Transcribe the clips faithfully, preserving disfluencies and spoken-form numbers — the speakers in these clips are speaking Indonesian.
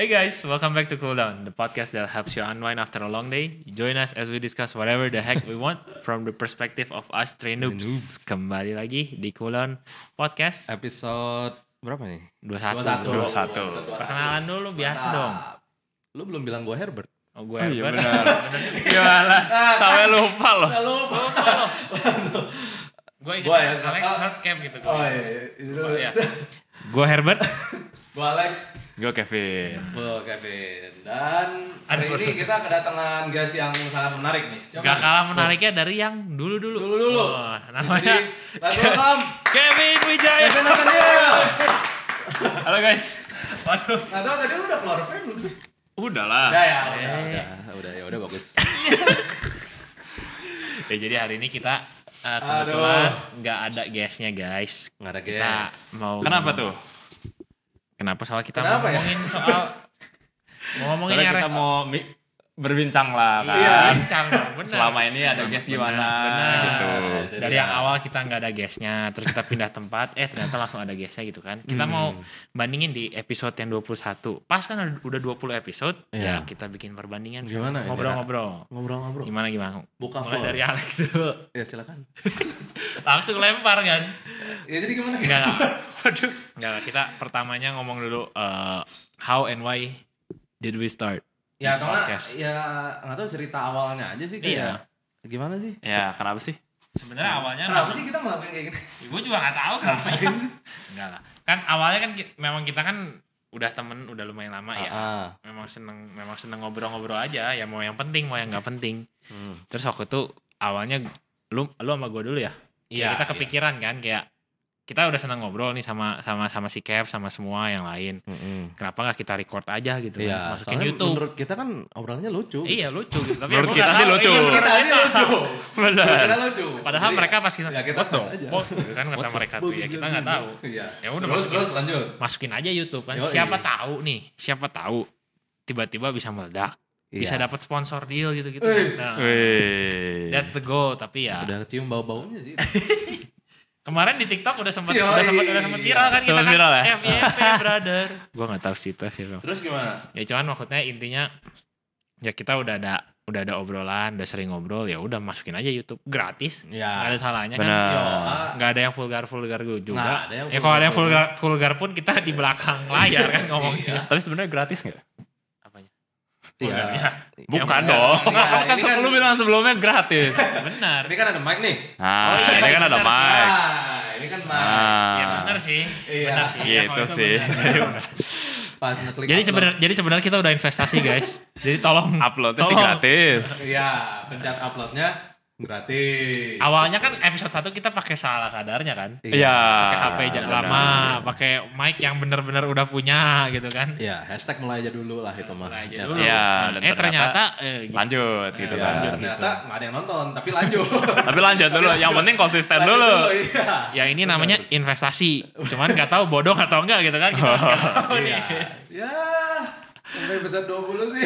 Hey guys, welcome back to Cool Down, the podcast that helps you unwind after a long day. Join us as we discuss whatever the heck we want from the perspective of us three noobs. Kembali lagi di Cool Down Podcast Episode berapa nih? dua puluh satu. dua puluh satu. Perkenalan dulu biasa dong. Lu belum bilang gue Herbert. Oh gue Oh, iya Herbert. benar. Gimana? Sampai lupa loh. Lupa loh. Gue Gua ya, Alex sekarang. Hardcap gitu. Oh iya, itu dulu ya. Gue Herbert. Gue Alex. Gue Kevin. Gue Kevin. Dan hari Aduh. ini kita kedatangan guys yang sangat menarik nih. Siapa Gak nih? kalah menariknya dari yang dulu-dulu. Dulu-dulu. Oh, namanya Jadi, let's welcome Kevin Wijaya. Kevin Nathaniel. Halo guys. Waduh. Nggak tahu tadi lu udah keluar fan belum sih? Udah lah. Udah ya, udah, Eh. udah, udah ya, udah bagus. Ya jadi hari ini kita uh, Aduh. kebetulan nggak ada guestnya guys. Nggak ada Kita guys. mau. Kenapa tuh? Kenapa soal kita Kenapa mau ya? ngomongin soal mau ngomongin Soalnya yang kita resto- mau mi- berbincang lah kan. Iya. bincang dong, bener. Selama ini ada guest di mana Bener. gitu. Nah, Dari Iya. yang awal kita nggak ada guestnya, terus kita pindah tempat, eh ternyata langsung ada guestnya gitu kan. Kita Hmm. mau bandingin di episode yang dua puluh satu. Pas kan ada- udah dua puluh episode, Iya. ya kita bikin perbandingan. Gimana ini? Ngobrol-ngobrol. Ngobrol-ngobrol. Gimana gimana? Buka Mulai floor. dari Alex dulu. Ya silakan. Langsung lempar kan. Ya jadi gimana? Enggak, enggak. Waduh. Enggak, kita pertamanya ngomong dulu uh, how and why did we start Ya, this atau nggak, podcast? ya nggak tahu cerita awalnya aja sih kayak gimana sih? Ya kenapa sih? Sebenarnya awalnya Kenapa sih kita ngelakuin kayak gini? gue juga nggak tahu kenapa. Enggak lah. Kan awalnya kan ki- memang kita kan udah temen udah lumayan lama ya. Ah, Memang seneng memang seneng ngobrol-ngobrol aja ya, mau yang penting mau yang nggak penting. hmm. Terus waktu itu awalnya lu lu sama gue dulu ya. Iya, Kita kepikiran kan kayak kita udah seneng ngobrol nih sama sama sama si Kev sama semua yang lain. Mm-mm. Kenapa nggak kita record aja gitu kan? Iya, Masukin soalnya YouTube. menurut kita kan obrolannya lucu. Iya lucu gitu. Tapi Menurut aku kita nggak sih tahu. lucu. Iya, Menurut kita sih lucu. Benar. Menurut kita lucu. Padahal Jadi, mereka pasti ya kita what the tes aja. fuck? Gitu kan kata mereka tuh ya kita nggak tahu. Iya. Ya udah terus masukin, terus lanjut. masukin aja YouTube kan. Yoi. Siapa tahu nih, siapa tahu tiba-tiba bisa meledak, bisa Iya. dapat sponsor deal gitu-gitu. Wih. Nah, Wih. that's the goal. Tapi ya Udah kecium bau-baunya sih. kemarin di TikTok udah sempat Yoi. udah sempat udah sempat viral kan kita Sempat kan viral ya? F Y P brother. Gua nggak tahu sih itu viral. Terus gimana? Ya cuman maksudnya intinya ya kita udah ada udah ada obrolan, udah sering ngobrol, ya udah masukin aja YouTube gratis. Nggak Ya. ada salahnya Benar. kan. Yo, Nggak ada yang vulgar-vulgar juga. Nggak ada yang Ya kalau ada yang vulgar-vulgar. vulgar, vulgar pun kita di belakang layar kan ngomongnya. Tapi sebenarnya gratis nggak? Apanya? Iya. Vulgarnya. Bukan Ya, dong. iya, Kan ini kan- lu bilang sebelumnya gratis. Benar. Ini kan ada mic nih. Nah, Oh, iya ini sih, kan ada benar sih. mic. Ah, ini kan mic. Ah. Ya benar sih. Iya. Benar sih. Ya, Gitu kalau itu sih. benar. Jadi benar. Pas ngeklik Jadi upload. sebenarnya jadi sebenarnya kita udah investasi guys. Jadi tolong Uploadnya sih tolong. gratis. Iya, pencet uploadnya gratis. Awalnya kan episode satu kita pakai salah kadarnya kan. Iya. Pakai H P ja- benar. lama, pakai mic yang bener-bener udah punya gitu kan. Iya, hashtag mulai aja dulu lah itu mah. Mulai aja Ya, dulu. Iya, dan eh ternyata eh, gitu. Lanjut gitu Ya, kan. lanjut ternyata gitu. nggak ada yang nonton, tapi lanjut. Tapi lanjut dulu. Yang penting konsisten Lanjut dulu. Iya. Ya ini namanya investasi. Cuman nggak tahu bodoh atau enggak gitu kan. Kita masih nggak tahu nih. Iya. Ya, sampai episode dua puluh sih.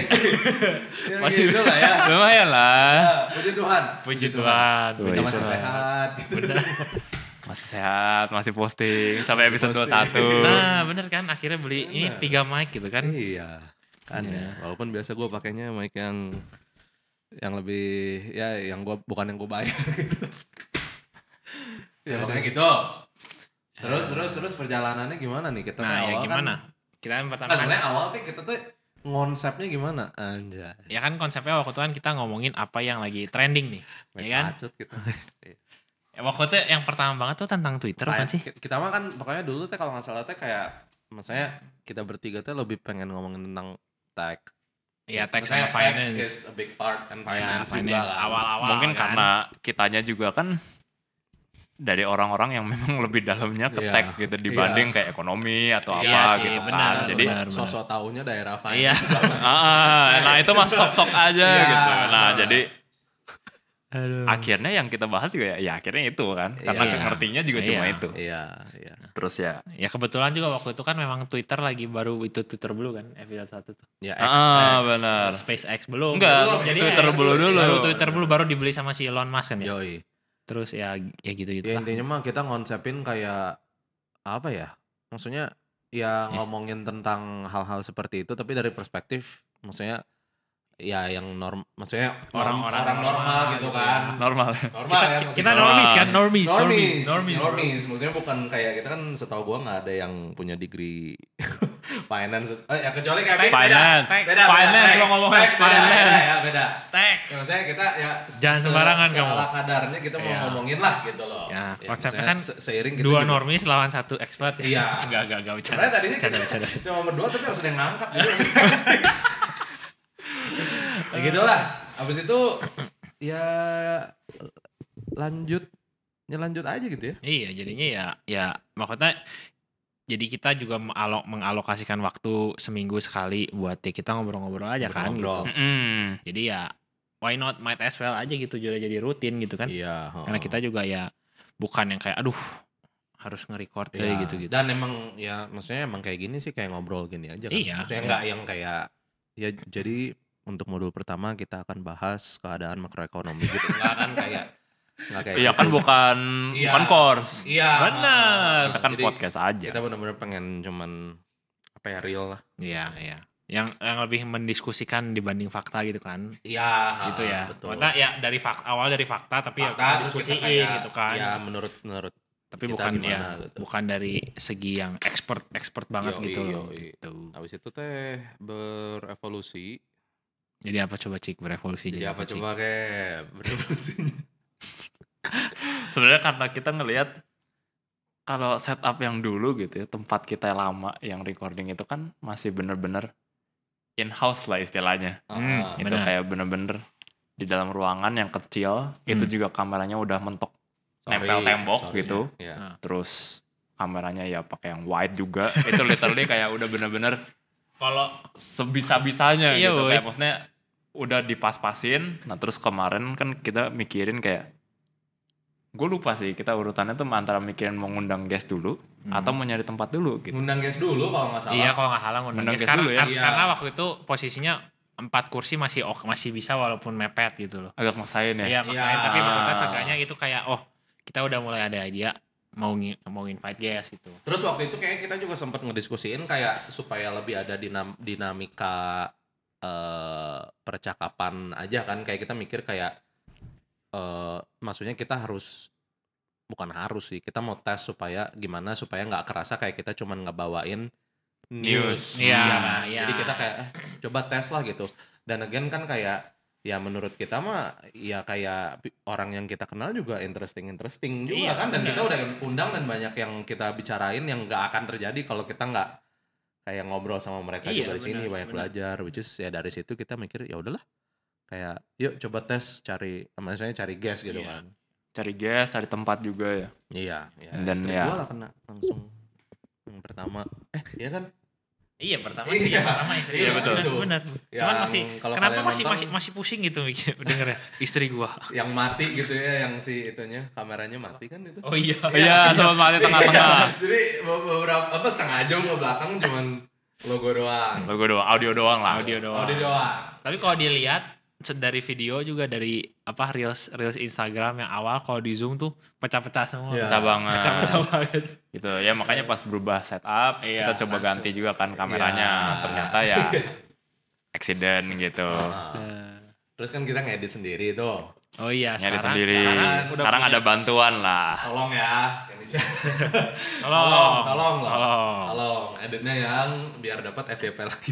Ya, Masih- gitu lah ya. Lumayan lah. Ya, puji Tuhan. Puji Tuhan. Kita Puji masih Tuhan. sehat. Gitu. Masih sehat, masih posting sampai episode dua puluh satu. Nah bener kan akhirnya beli ini Bener. tiga mic gitu kan. Iya. Kan ya. Walaupun biasa gue pakainya mic yang yang lebih ya yang gue bukan yang gue bayar gitu. Ya pokoknya gitu. Terus terus terus perjalanannya gimana nih kita? Nah tuh ya awal gimana? Kan, Kita yang pertama nah, kan, sebenarnya awal tuh kita tuh konsepnya gimana? Anjay. ya kan konsepnya waktu itu kan kita ngomongin apa yang lagi trending nih. Ya kan? Pacut gitu. Ya, waktu itu yang pertama banget tuh tentang Twitter kan sih? Kita, kita mah kan pokoknya dulu tuh kalau nggak salah tuh kayak maksudnya kita bertiga tuh lebih pengen ngomongin tentang tech. Ya tech Maksudnya sama finance. is a big part and Ya, finance, juga finance lah. awal-awal Mungkin kan. karena kitanya juga kan dari orang-orang yang memang lebih dalamnya ke Iya. tech gitu dibanding kayak ekonomi atau Iya apa sih, gitu benar, kan. Jadi benar. sosok taunya daerah Iya. finance. ah, nah itu mah sok-sok aja Iya. gitu. Nah, jadi Aduh. akhirnya yang kita bahas juga ya, ya akhirnya itu kan. Karena Iya. ngertinya juga Iya. cuma itu. Iya, iya. Terus ya Ya kebetulan juga waktu itu kan memang Twitter lagi baru itu Twitter Blue kan episode satu tuh. Ya, ah, X, benar. SpaceX belum. Enggak, belum. Jadi Twitter eh, Blue dulu. Baru Twitter Blue baru dibeli sama si Elon Musk kan ya. Yoi. Terus ya ya gitu-gitu Ya lah. intinya mah kita ngonsepin kayak apa ya? Maksudnya ya ngomongin tentang hal-hal seperti itu tapi dari perspektif maksudnya ya yang norm maksudnya Orang-orang orang normal, normal gitu gitu kan. ya. Normal. Normal Kita, ya. kita maksudnya. normis kan, normis, normis, normis, normis, normis. Maksudnya bukan kayak kita kan setahu gua nggak ada yang punya degree finance. Eh, ya kecuali kayak beda, Finance. beda, beda, Finance beda, lo ngomongnya, beda, beda, finance. beda, ya, beda. Tech. Ya, maksudnya kita ya Jangan sembarangan kamu. Ala kadarnya kita mau Iya. ngomongin lah gitu loh. Ya, konsepnya maksudnya kan se- seiring kita Dua juga- normis lawan satu expert. Iya. Enggak, enggak, enggak bercanda. Sebenarnya tadinya Bercanda, kita bercanda. cuma berdua tapi harus ada yang ngangkat gitu. Ya gitu lah. Habis itu ya lanjut ya lanjut aja gitu ya. Iya, jadinya ya ya maksudnya jadi kita juga mengalok, mengalokasikan waktu seminggu sekali buat ya kita ngobrol-ngobrol aja kan Ngobrol. gitu. Mm. Jadi ya why not might as well aja gitu jadi jadi rutin gitu kan. Iya. Karena kita juga ya bukan yang kayak aduh harus nge-record ya, kayak gitu-gitu. Dan emang ya maksudnya emang kayak gini sih kayak ngobrol gini aja kan. Iya. Maksudnya enggak yang kayak ya jadi untuk modul pertama kita akan bahas keadaan makroekonomi gitu. Enggak kan kayak enggak kayak Iya gitu. kan bukan Iya. bukan course. Iya. Benar. Kita kan Jadi podcast aja. Kita benar-benar pengen cuman apa ya real lah. Iya, iya. Yang yang lebih mendiskusikan dibanding fakta gitu kan. Iya, Gitu ya. betul. Maksudnya ya dari fakta awal dari fakta tapi Fakta, ya kita terus diskusiin kita kayak, gitu kan. Ya menurut menurut tapi kita bukan gimana ya gitu. bukan dari segi yang expert expert banget Yoi, gitu loh. yoi. Gitu. habis itu teh berevolusi. Jadi apa coba Cik berevolusi Jadi apa Cik? coba kayak berevolusinya? Sebenarnya karena kita ngelihat kalau setup yang dulu gitu ya, tempat kita yang lama yang recording itu kan masih bener-bener in-house lah istilahnya. Hmm, Ah, Itu benar. kayak bener-bener di dalam ruangan yang kecil, itu Hmm. juga kameranya udah mentok sorry, nempel tembok sorry, gitu. ya. Ah. Terus kameranya ya pakai yang wide juga. Itu literally kayak udah bener-bener Kalau sebisa-bisanya Iya, gitu. woy. Kayak maksudnya udah dipas-pasin. Nah terus kemarin kan kita mikirin kayak, gue lupa sih kita urutannya tuh antara mikirin mau ngundang guest dulu Hmm. atau mau nyari tempat dulu gitu. Ngundang guys dulu kalau nggak salah. iya kalau nggak salah ngundang Ngundang guest. guest Karena, dulu ya. kar- Iya. karena waktu itu posisinya empat kursi masih ok, masih bisa walaupun mepet gitu loh. Agak maksain ya. Iya makanya Iya. tapi menurut saya seenggaknya itu kayak oh kita udah mulai ada idea mau ngi- mau invite guest gitu. Terus waktu itu kayak kita juga sempat ngediskusiin kayak supaya lebih ada dinam- dinamika eh, percakapan aja kan. Kayak kita mikir kayak eh maksudnya kita harus bukan harus sih kita mau tes supaya gimana supaya nggak kerasa kayak kita cuman ngebawain news. Iya, kan? iya. Jadi kita kayak eh, coba tes lah gitu. Dan again kan kayak ya menurut kita mah ya kayak pi- orang yang kita kenal juga interesting interesting juga Iya, kan dan benar. kita udah undang dan banyak yang kita bicarain yang nggak akan terjadi kalau kita nggak kayak ngobrol sama mereka Iya, juga di sini benar, banyak benar. belajar which is ya dari situ kita mikir ya udahlah kayak yuk coba tes cari maksudnya cari guest gitu Iya. kan. Cari guest, cari tempat juga ya. Iya, ya. Dan Istri ya- gua lah kena langsung yang pertama. Eh, iya kan? Iya pertama Iya. sih yang pertama istri Iya, gua. betul. Benar, benar. Yang Cuman masih kalau kenapa kalian masih nonton- masih masih pusing gitu mikir denger ya istri gua. Yang mati gitu ya, yang si itunya kameranya mati kan itu. Oh iya. Iya, sama mati tengah-tengah. Jadi beberapa apa setengah jam ke belakang cuman logo doang. Logo doang, audio doang lah. Audio doang. Audio doang. Tapi kalau dilihat se- dari video juga dari apa reels reels Instagram yang awal kalau di zoom tuh pecah-pecah semua. Iya. Pecah banget. Pecah-pecah banget. Gitu ya, makanya pas berubah setup, Iya, kita coba langsung. ganti juga kan kameranya. Iya. Ternyata ya accident gitu. Nah, terus kan kita ngedit sendiri tuh. Oh iya Nyari sekarang sendiri. sekarang, Sekarang, udah ada bantuan lah. Tolong ya. Yang di- tolong tolong, tolong lah. tolong. Tolong editnya yang biar dapat F Y P lagi.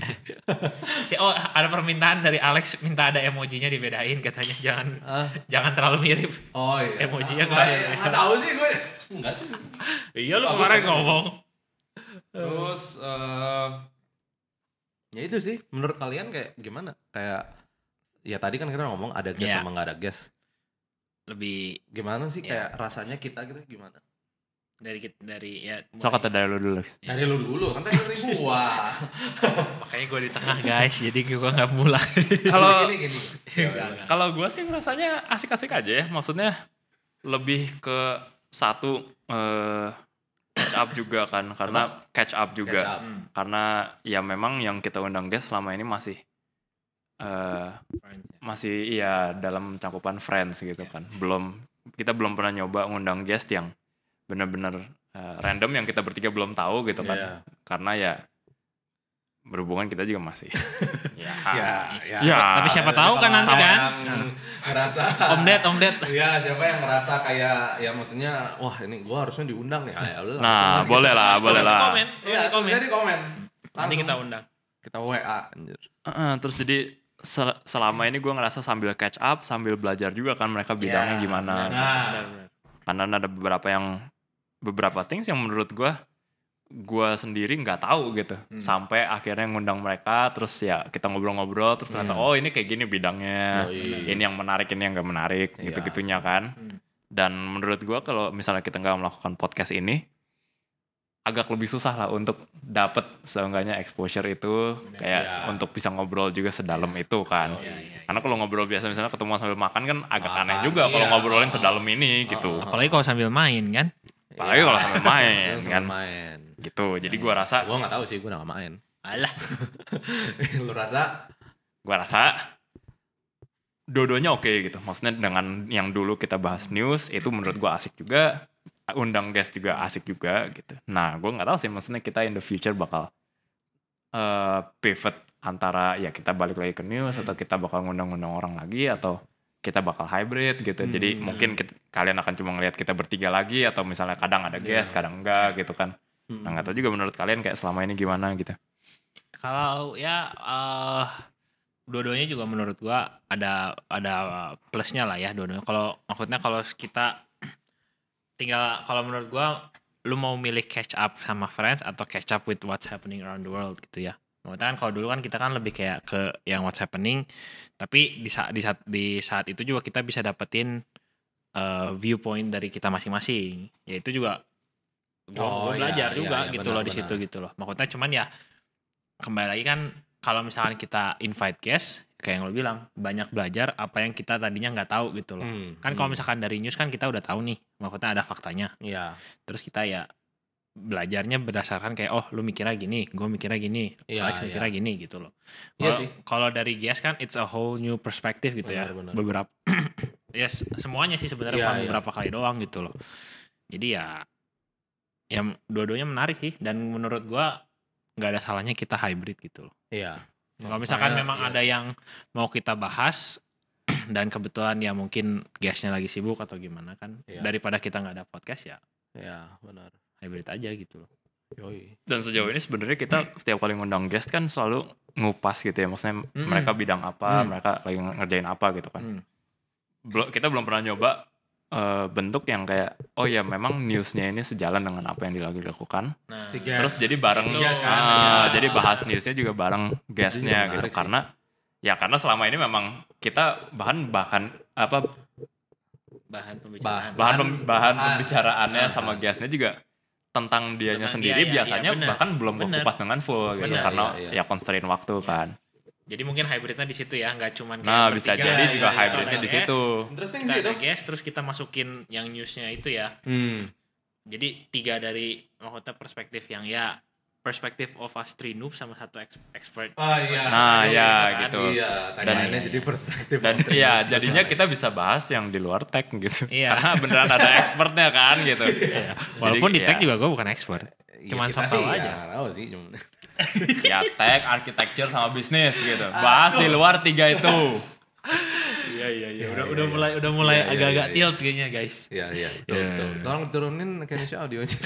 Si oh ada permintaan dari Alex minta ada emojinya dibedain katanya jangan Ah. jangan terlalu mirip. Oh iya. Emojinya Enggak, nggak- ya, nggak tahu sih gue. Enggak sih. Iya lu Bagus, kemarin bagus. ngomong. Terus eh ya itu sih menurut kalian kayak gimana? Kayak ya tadi kan kita ngomong ada guest Iya. sama nggak ada guest. Lebih Gimana sih Iya. kayak rasanya kita gitu gimana? dari dari ya So kata dari lu dulu. Dari lu dulu kan tadi dari gua. makanya gue di tengah guys jadi gue nggak mulai. Kalau gini gini. Iya, kalau gue sih rasanya asik-asik aja ya. Maksudnya lebih ke satu eh, catch up juga kan, karena catch up juga. Catch up. Hmm. Karena ya memang yang kita undang guest selama ini masih eh masih iya dalam cakupan friends gitu kan. Belum kita belum pernah nyoba ngundang guest yang bener-bener eh, random yang kita bertiga belum tahu gitu kan. Iya. karena ya berhubungan kita juga masih ya, ya, ya, ya. Tapi siapa tahu kan nanti kan yang ngerasa Om Ded, Om Ded. ya siapa yang ngerasa kayak ya maksudnya wah ini gua harusnya diundang ya ya udah nah boleh lah boleh lah Komen, ya, komen. jadi komen Nanti kita undang. kita W A anjir. Uh, terus jadi sel- selama ini gue ngerasa sambil catch up sambil belajar juga kan mereka bidangnya Ya, gimana. nah. Karena ada beberapa yang beberapa things yang menurut gue gue sendiri nggak tahu gitu. Hmm. Sampai akhirnya ngundang mereka terus ya kita ngobrol-ngobrol terus ternyata hmm. oh ini kayak gini bidangnya. Oh, iya. Ini yang menarik ini yang nggak menarik iya. gitu-gitunya kan. Hmm. Dan menurut gue kalau misalnya kita nggak melakukan podcast ini agak lebih susah lah untuk dapet seenggaknya exposure itu kayak ya. Untuk bisa ngobrol juga sedalam ya. Itu kan. Oh, iya, iya. Karena kalau ngobrol biasa misalnya ketemu sambil makan kan agak makan, aneh juga iya. Kalau ngobrolin sedalam ini gitu. Apalagi kalau sambil main kan. Apalagi ya. Kalau sambil main kan. Main. Gitu. Jadi gua rasa gua enggak tahu sih, gua enggak main. Alah. Lu rasa? Gua rasa dua-duanya oke okay, gitu. Maksudnya dengan yang dulu kita bahas news itu menurut gua asik juga. Undang guest juga asik juga gitu. Nah, gue nggak tahu sih, maksudnya kita in the future bakal uh, pivot antara ya kita balik lagi ke news hmm. atau kita bakal ngundang-ngundang orang lagi atau kita bakal hybrid gitu. Hmm. Jadi mungkin kita, kalian akan cuma ngelihat kita bertiga lagi atau misalnya kadang ada guest, yeah. kadang enggak gitu kan. Hmm. Nah, nggak tahu juga menurut kalian kayak selama ini gimana gitu. Kalau ya uh, dua-duanya juga menurut gue ada ada plusnya lah ya dua-duanya. Kalau maksudnya kalau kita tinggal kalau menurut gue lu mau milih catch up sama friends atau catch up with what's happening around the world gitu ya. Maksudnya kan kalau dulu kan kita kan lebih kayak ke yang what's happening, tapi di saat di saat di saat itu juga kita bisa dapetin uh, viewpoint dari kita masing-masing. Ya itu juga gue oh, belajar iya, juga iya, gitu benar, loh di situ gitu loh. Maksudnya cuman ya kembali lagi kan kalau misalkan kita invite guest kayak yang lo bilang banyak belajar apa yang kita tadinya nggak tahu gitu loh. Hmm, kan hmm. kalau misalkan dari news kan kita udah tahu nih, maksudnya ada faktanya. Iya. Terus kita ya belajarnya berdasarkan kayak oh lu mikirnya gini, gue mikirnya gini, iya, Alex mikirnya iya. gini gitu loh. Iya sih. Kalau dari guest kan it's a whole new perspective gitu benar, ya. Benar. Beberapa ya yes, semuanya sih sebenarnya iya, bukan iya. beberapa kali doang gitu loh. Jadi ya ya dua-duanya menarik sih dan menurut gue nggak ada salahnya kita hybrid gitu loh. Iya. Kalau misalkan saya, memang yes. ada yang mau kita bahas dan kebetulan ya mungkin guestnya lagi sibuk atau gimana kan ya. Daripada kita nggak ada podcast ya ya benar hybrid aja gitu loh. Yoi. Dan sejauh ini sebenarnya kita setiap kali ngundang guest kan selalu ngupas gitu ya, maksudnya mm. mereka bidang apa, mm. mereka lagi ngerjain apa gitu kan. Mm. Belum kita belum pernah nyoba uh, bentuk yang kayak oh ya memang newsnya ini sejalan dengan apa yang lagi dilakukan. Nah, terus jadi bareng uh, kan, ya. Jadi bahas newsnya juga bareng guestnya gitu sih. Karena ya karena selama ini memang kita bahan bahkan apa bahan pembicaraan bahan bahan, bahan, bahan pembicaraannya sama guestnya juga tentang dianya tentang sendiri dia, biasanya ya, ya, bahkan belum kupas dengan full gitu bener, karena ya, ya. ya constraint waktu ya. Kan. Jadi mungkin hybridnya di situ ya, nggak cuma kayak nah bisa jadi ya, juga ya, hybridnya di situ. Interesting kita ada guest, terus kita masukin yang newsnya itu ya. Hmm. Jadi tiga dari maksudnya perspektif yang ya perspektif of us three noob sama satu expert. Oh iya. Nah ya kan? Gitu. Iya. Dan ini jadi perspektif. Dan iya jadinya kita bisa bahas yang di luar tech gitu. Iya. Karena beneran ada expertnya kan gitu. Iya. Walaupun jadi, di tech ya. Juga gue bukan expert. Cuman ya, soal aja. Ya, tahu sih. Ya tech, architecture sama bisnis gitu. Bahas di luar tiga itu. Iya iya iya. Udah udah mulai udah mulai ya, agak-agak ya, ya, tilt kayaknya guys. Iya iya. Betul ya, betul. Tolong turunin Kenisha audionya.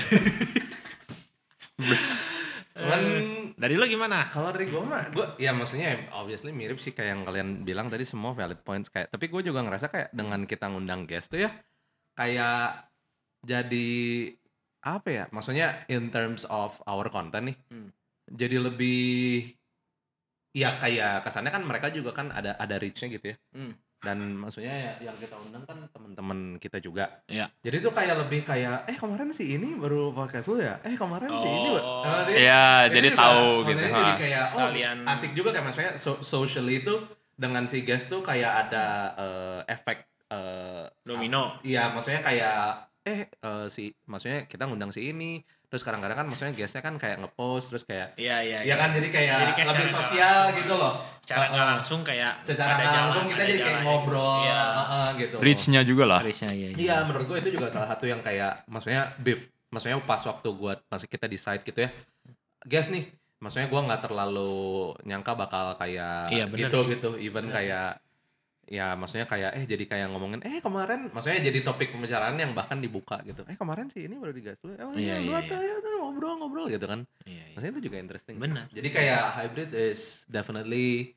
Kan dari lo gimana? Kalau dari gue mah, gue ya maksudnya obviously mirip sih kayak yang kalian bilang tadi semua valid points kayak. Tapi gue juga ngerasa kayak dengan kita ngundang guest tuh ya kayak jadi apa ya? Maksudnya in terms of our content nih, hmm. jadi lebih ya kayak kesannya kan mereka juga kan ada ada reach-nya gitu ya. Hmm. Dan maksudnya ya, yang kita undang kan teman-teman kita juga. Iya. Jadi tuh kayak lebih kayak eh kemarin si ini baru podcast lu ya. Eh kemarin oh. si ini. Nah, iya, jadi juga, tahu gitu. Jadi kayak sekalian oh, asik juga kayak maksudnya so, socially itu dengan si guest tuh kayak ada uh, efek uh, domino. Iya, maksudnya kayak eh uh, si maksudnya kita ngundang si ini. Terus kadang-kadang kan maksudnya guestnya kan kayak ngepost terus kayak iya iya iya kan jadi kayak, jadi kayak lebih sosial gitu loh. Secara nggak uh, langsung kayak secara nggak langsung kita jadi kayak ngobrol iya. uh, uh, gitu. Reach-nya juga lah. Reach-nya iya. Iya, menurut gue itu juga salah satu yang kayak maksudnya beef. Maksudnya pas waktu gue masih kita decide gitu ya. guest nih. Maksudnya gue nggak terlalu nyangka bakal kayak Iya, bener gitu sih. gitu. Even Bener kayak ya maksudnya kayak eh jadi kayak ngomongin eh kemarin, maksudnya jadi topik pembicaraan yang bahkan dibuka gitu. Eh kemarin sih ini baru digas lu. Oh iya, Iya, lu iya, tuh ya tuh ngobrol-ngobrol gitu kan. Iya, iya. Maksudnya itu juga interesting. sih. Benar. Jadi kayak hybrid is definitely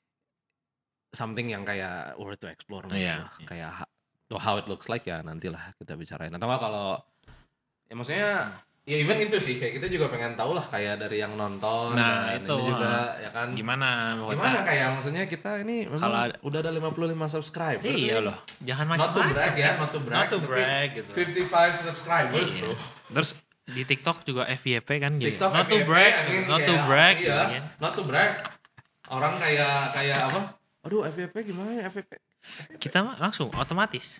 something yang kayak worth to explore. menurut Iya, gua. iya. Kayak ha- how it looks like ya nantilah kita bicarain. Atau nggak kalau ya maksudnya ya even itu sih kayak kita juga pengen tahu lah kayak dari yang nonton Nah, dan itu, ini juga ah. ya kan. Gimana? Gimana kayak maksudnya kita ini maksudnya Kalau ada- udah ada lima puluh lima subscribers. Iya nih. loh. Jangan Not to macam-macam. brag ya, not to brag. Not to tapi brag gitu. fifty-five subscribers Iya. bro. Terus di TikTok juga F Y P kan jadi TikTok not to F Y P, brag, I mean, not to kayak, brag iya, gitu kan. not to brag. Orang kayak kayak apa? Aduh F Y P gimana ya F Y P? Kita mah langsung otomatis.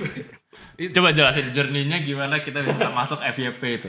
Coba jelasin journey-nya gimana kita bisa masuk F Y P itu.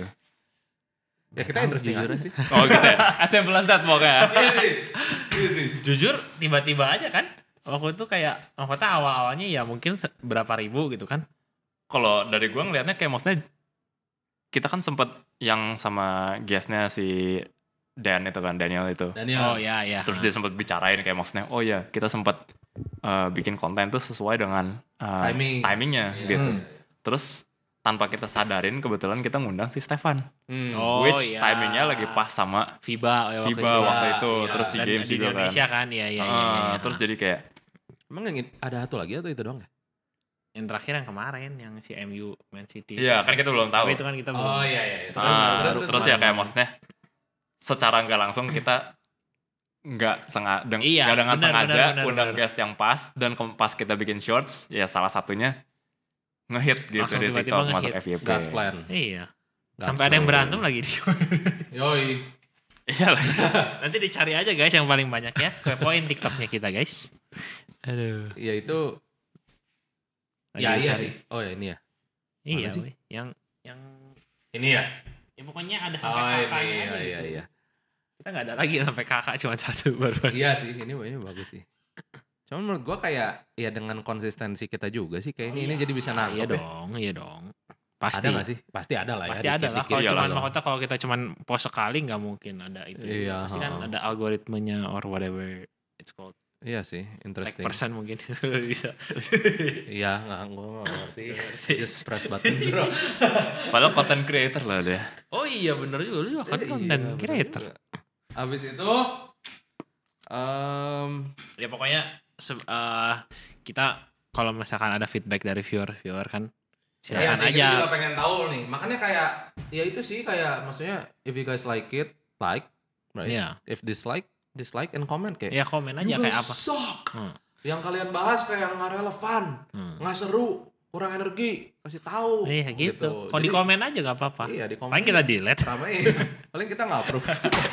Ya kita tahu, interesting jujur aja sih. Oh gitu ya. As simple as that pokoknya. Iya sih. Iya sih. Jujur tiba-tiba aja kan. Waktu itu kayak maksudnya awal-awalnya ya mungkin se- berapa ribu gitu kan. Kalau dari gua ngelihatnya kayak maksudnya kita kan sempet yang sama guestnya si Dan itu kan, Daniel itu. Daniel. Oh ya ya. Terus dia sempat bicarain kayak maksudnya, oh ya kita sempat uh, bikin konten tuh sesuai dengan uh, Timing. timingnya Iya. gitu. Hmm. Terus tanpa kita sadarin kebetulan kita ngundang si Stefan, Hmm. Oh, which iya. timingnya lagi pas sama FIBA ya, waktu FIBA itu. waktu itu, Iya. terus si Dan games di juga Indonesia kan. kan, ya ya Uh, ya, ya, ya. Terus jadi kayak Emang yang it- ada satu lagi atau itu doang ya? yang terakhir yang kemarin yang si M U Man City. iya kan kita belum tahu. Tapi itu kan kita belum. iya iya. Itu Ah, kan terus, terus ya gimana? kayak maksudnya secara nggak langsung kita nggak sengaja deng- Iya, nggak dengan benar, sengaja benar, benar, undang benar. guest yang pas dan ke- pas kita bikin shorts ya salah satunya ngehit gitu Langsung di tiba-tiba TikTok masuk ngehit. F Y P. God's plan. Iya. God's Sampai ada yang plan. berantem lagi di. Yoi. Iya lah. Nanti dicari aja guys yang paling banyak ya. Kepoin TikToknya kita guys. Aduh. Ya itu Lagi ya iya dicari. sih. Oh ya ini ya. Iya Mana sih? weh. Yang yang Ini ya. ya pokoknya ada Oh sampai ini kakaknya iya aja iya gitu. iya. Kita nggak ada lagi sampai kakak cuma satu baru. Iya sih, ini ini bagus sih. Cuman menurut gua kayak ya dengan konsistensi kita juga sih kayaknya ini jadi bisa nangkep Iya ya. dong, iya dong. Pasti. Ada gak sih? Pasti ada lah ya. Pasti ada lah. dikit-dikit. Kalau Iyalah cuman dong. makanya kalau kita cuman post sekali nggak mungkin ada itu. Iya, Pasti kan ha. ada algoritmanya or whatever it's called. Iya sih, Like interesting. persen mungkin bisa. Iya, nggak gua nggak ngerti. Just press button bro. Padahal content creator lah dia. Oh iya bener juga lu juga kan Iya, konten bener creator. juga. Abis itu, um, Ya pokoknya se- eh, kita kalau misalkan ada feedback dari viewer-viewer kan ya silakan sih, kita juga aja. pengen tahu nih. Makanya kayak, ya itu sih kayak maksudnya if you guys like it, like, right? Iya. If dislike, dislike and comment kayak. Ya komen aja "You kayak guys apa. suck." Hmm. Yang kalian bahas kayak nggak relevan, Hmm. nggak seru, kurang energi, kasih tahu. Iya gitu. Kalau di Jadi, komen aja gak apa-apa. Iya di komen. Paling kita delete. ramein. Paling kita nggak approve.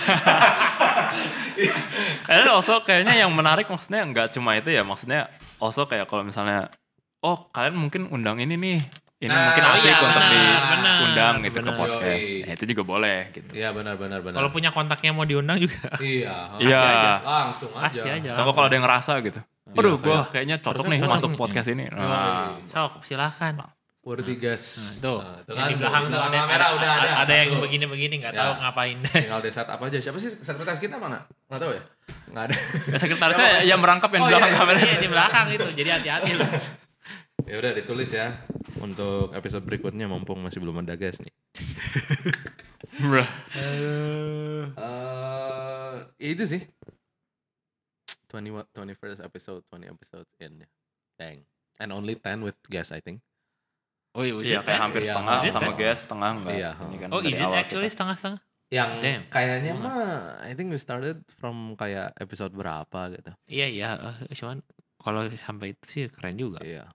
And also kayaknya yang menarik maksudnya nggak cuma itu ya, maksudnya also kayak kalau misalnya oh kalian mungkin undang ini nih, ini Nah, mungkin oh asik iya, untuk benar, diundang benar, gitu ke benar. podcast. Yoi. Ya, itu juga boleh gitu. Iya benar benar benar. Kalau punya kontaknya mau diundang juga. Iya. Iya. Langsung aja. Kasih aja. Atau kalau ada yang ngerasa gitu. Aduh, gue kayak- kayaknya cocok harusnya nih cocok masuk nih. podcast ini. Yoi. Nah, Sok silahkan. Worthy guys. Nah, tuh. Nah, itu Yang kan di belakang tuh, tuh ada, kamera ada, udah ada. ada yang Satu. begini-begini nggak Ya. tahu ngapain. Tinggal di set apa aja. Siapa sih sekretaris kita mana? Nggak tahu ya? Nggak ada. ya sekretarisnya yang merangkap yang Oh, di belakang iya, kamera. Iya di belakang itu. Jadi hati-hati loh. Ya udah ditulis ya untuk episode berikutnya mumpung masih belum ada guys nih. Bruh. Eh, ya itu sih. twenty twenty-first episode, twenty episodes in. Dang. And only ten with guests I think. Oh iya, Iya kayak hampir Iya, setengah is it sama ten? guest, setengah enggak. Iya, Ini kan Oh dari is it awal actually kita. setengah-setengah? Yang Damn. kayaknya mah I think we started from kayak episode berapa gitu. Iya iya. eh, Cuman kalau sampai itu sih keren juga. Iya.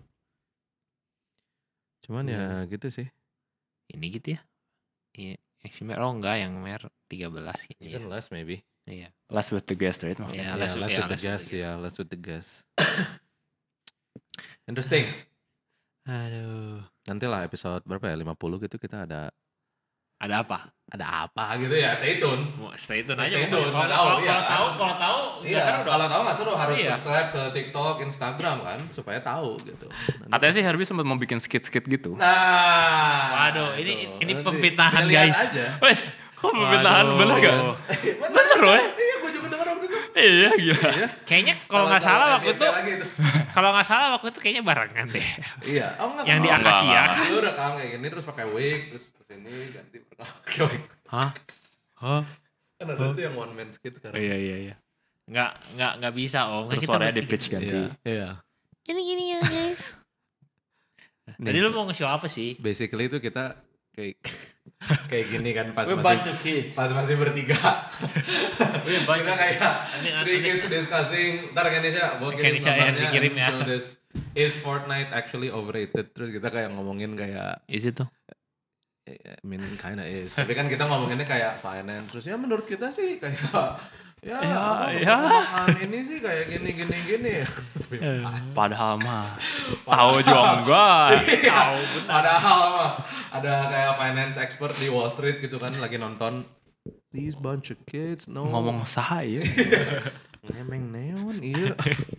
Cuman ya gitu sih. Ini gitu ya. Iya. Yang si Mer, oh enggak yang Mer tiga belas gitu ya. Even less maybe. Iya. Last with the guest right maksudnya. Iya, Yeah, less less, with- with yeah, the less with guest, the ya, less with the guest. Interesting. Aduh. Nantilah episode berapa ya? lima puluh gitu kita ada Ada apa? ada apa gitu ya. Stay tune. Mau stay tune Stay aja. tune, Kalau nggak kalau tahu, iya. kalau tahu kalau tahu Iya, nggak seru dong. kalau tahu nggak seru harus Iya. subscribe ke TikTok, Instagram kan supaya tahu gitu. Nanti- Katanya sih Herbie sempat mau bikin skit-skit gitu. Nah, Waduh, ini gitu. ini Nanti pemfitnahan kita lihat guys. aja. Wes, Oh, permintaan Waduh. bener gak? Bener loh ya? Iya, gue juga denger waktu itu. Iya gila. Kayaknya kalau nggak salah waktu itu, lagi itu. kalau nggak salah waktu itu kayaknya barengan deh. Iya, oh enggak. Yang di Oh, enggak, Akasia. enggak, Lu rekam kayak gini terus pakai wig terus kesini ganti pakai wig. Hah? Hah? Kan ada tuh yang one man skit sekarang. Iya iya iya. Nggak nggak nggak bisa om. Terus Kita suaranya di bertiga. pitch ganti. Iya. Gini gini ya guys. Tadi lu mau nge-show apa sih? Basically itu kita kayak kayak gini kan pas We're masih bunch of kids. pas masih bertiga. We're bunch Kita of kayak Nanti- three nanti- kids discussing. Ntar Kenisha, gue kirim Kenisha ya, gambarnya. dikirim ya. So this is Fortnite actually overrated. Terus kita kayak ngomongin kayak Is it tuh? I mean kinda is. Tapi kan kita ngomonginnya kayak finance. Terus ya menurut kita sih kayak ya, Ya, apa, ya. perkembangan ini sih kayak gini gini gini. Padahal mah tahu juga enggak. Tahu benar. Padahal mah ada kayak finance expert di Wall Street gitu kan lagi nonton these bunch of kids no Ngomong saya. ngemeng neon iya.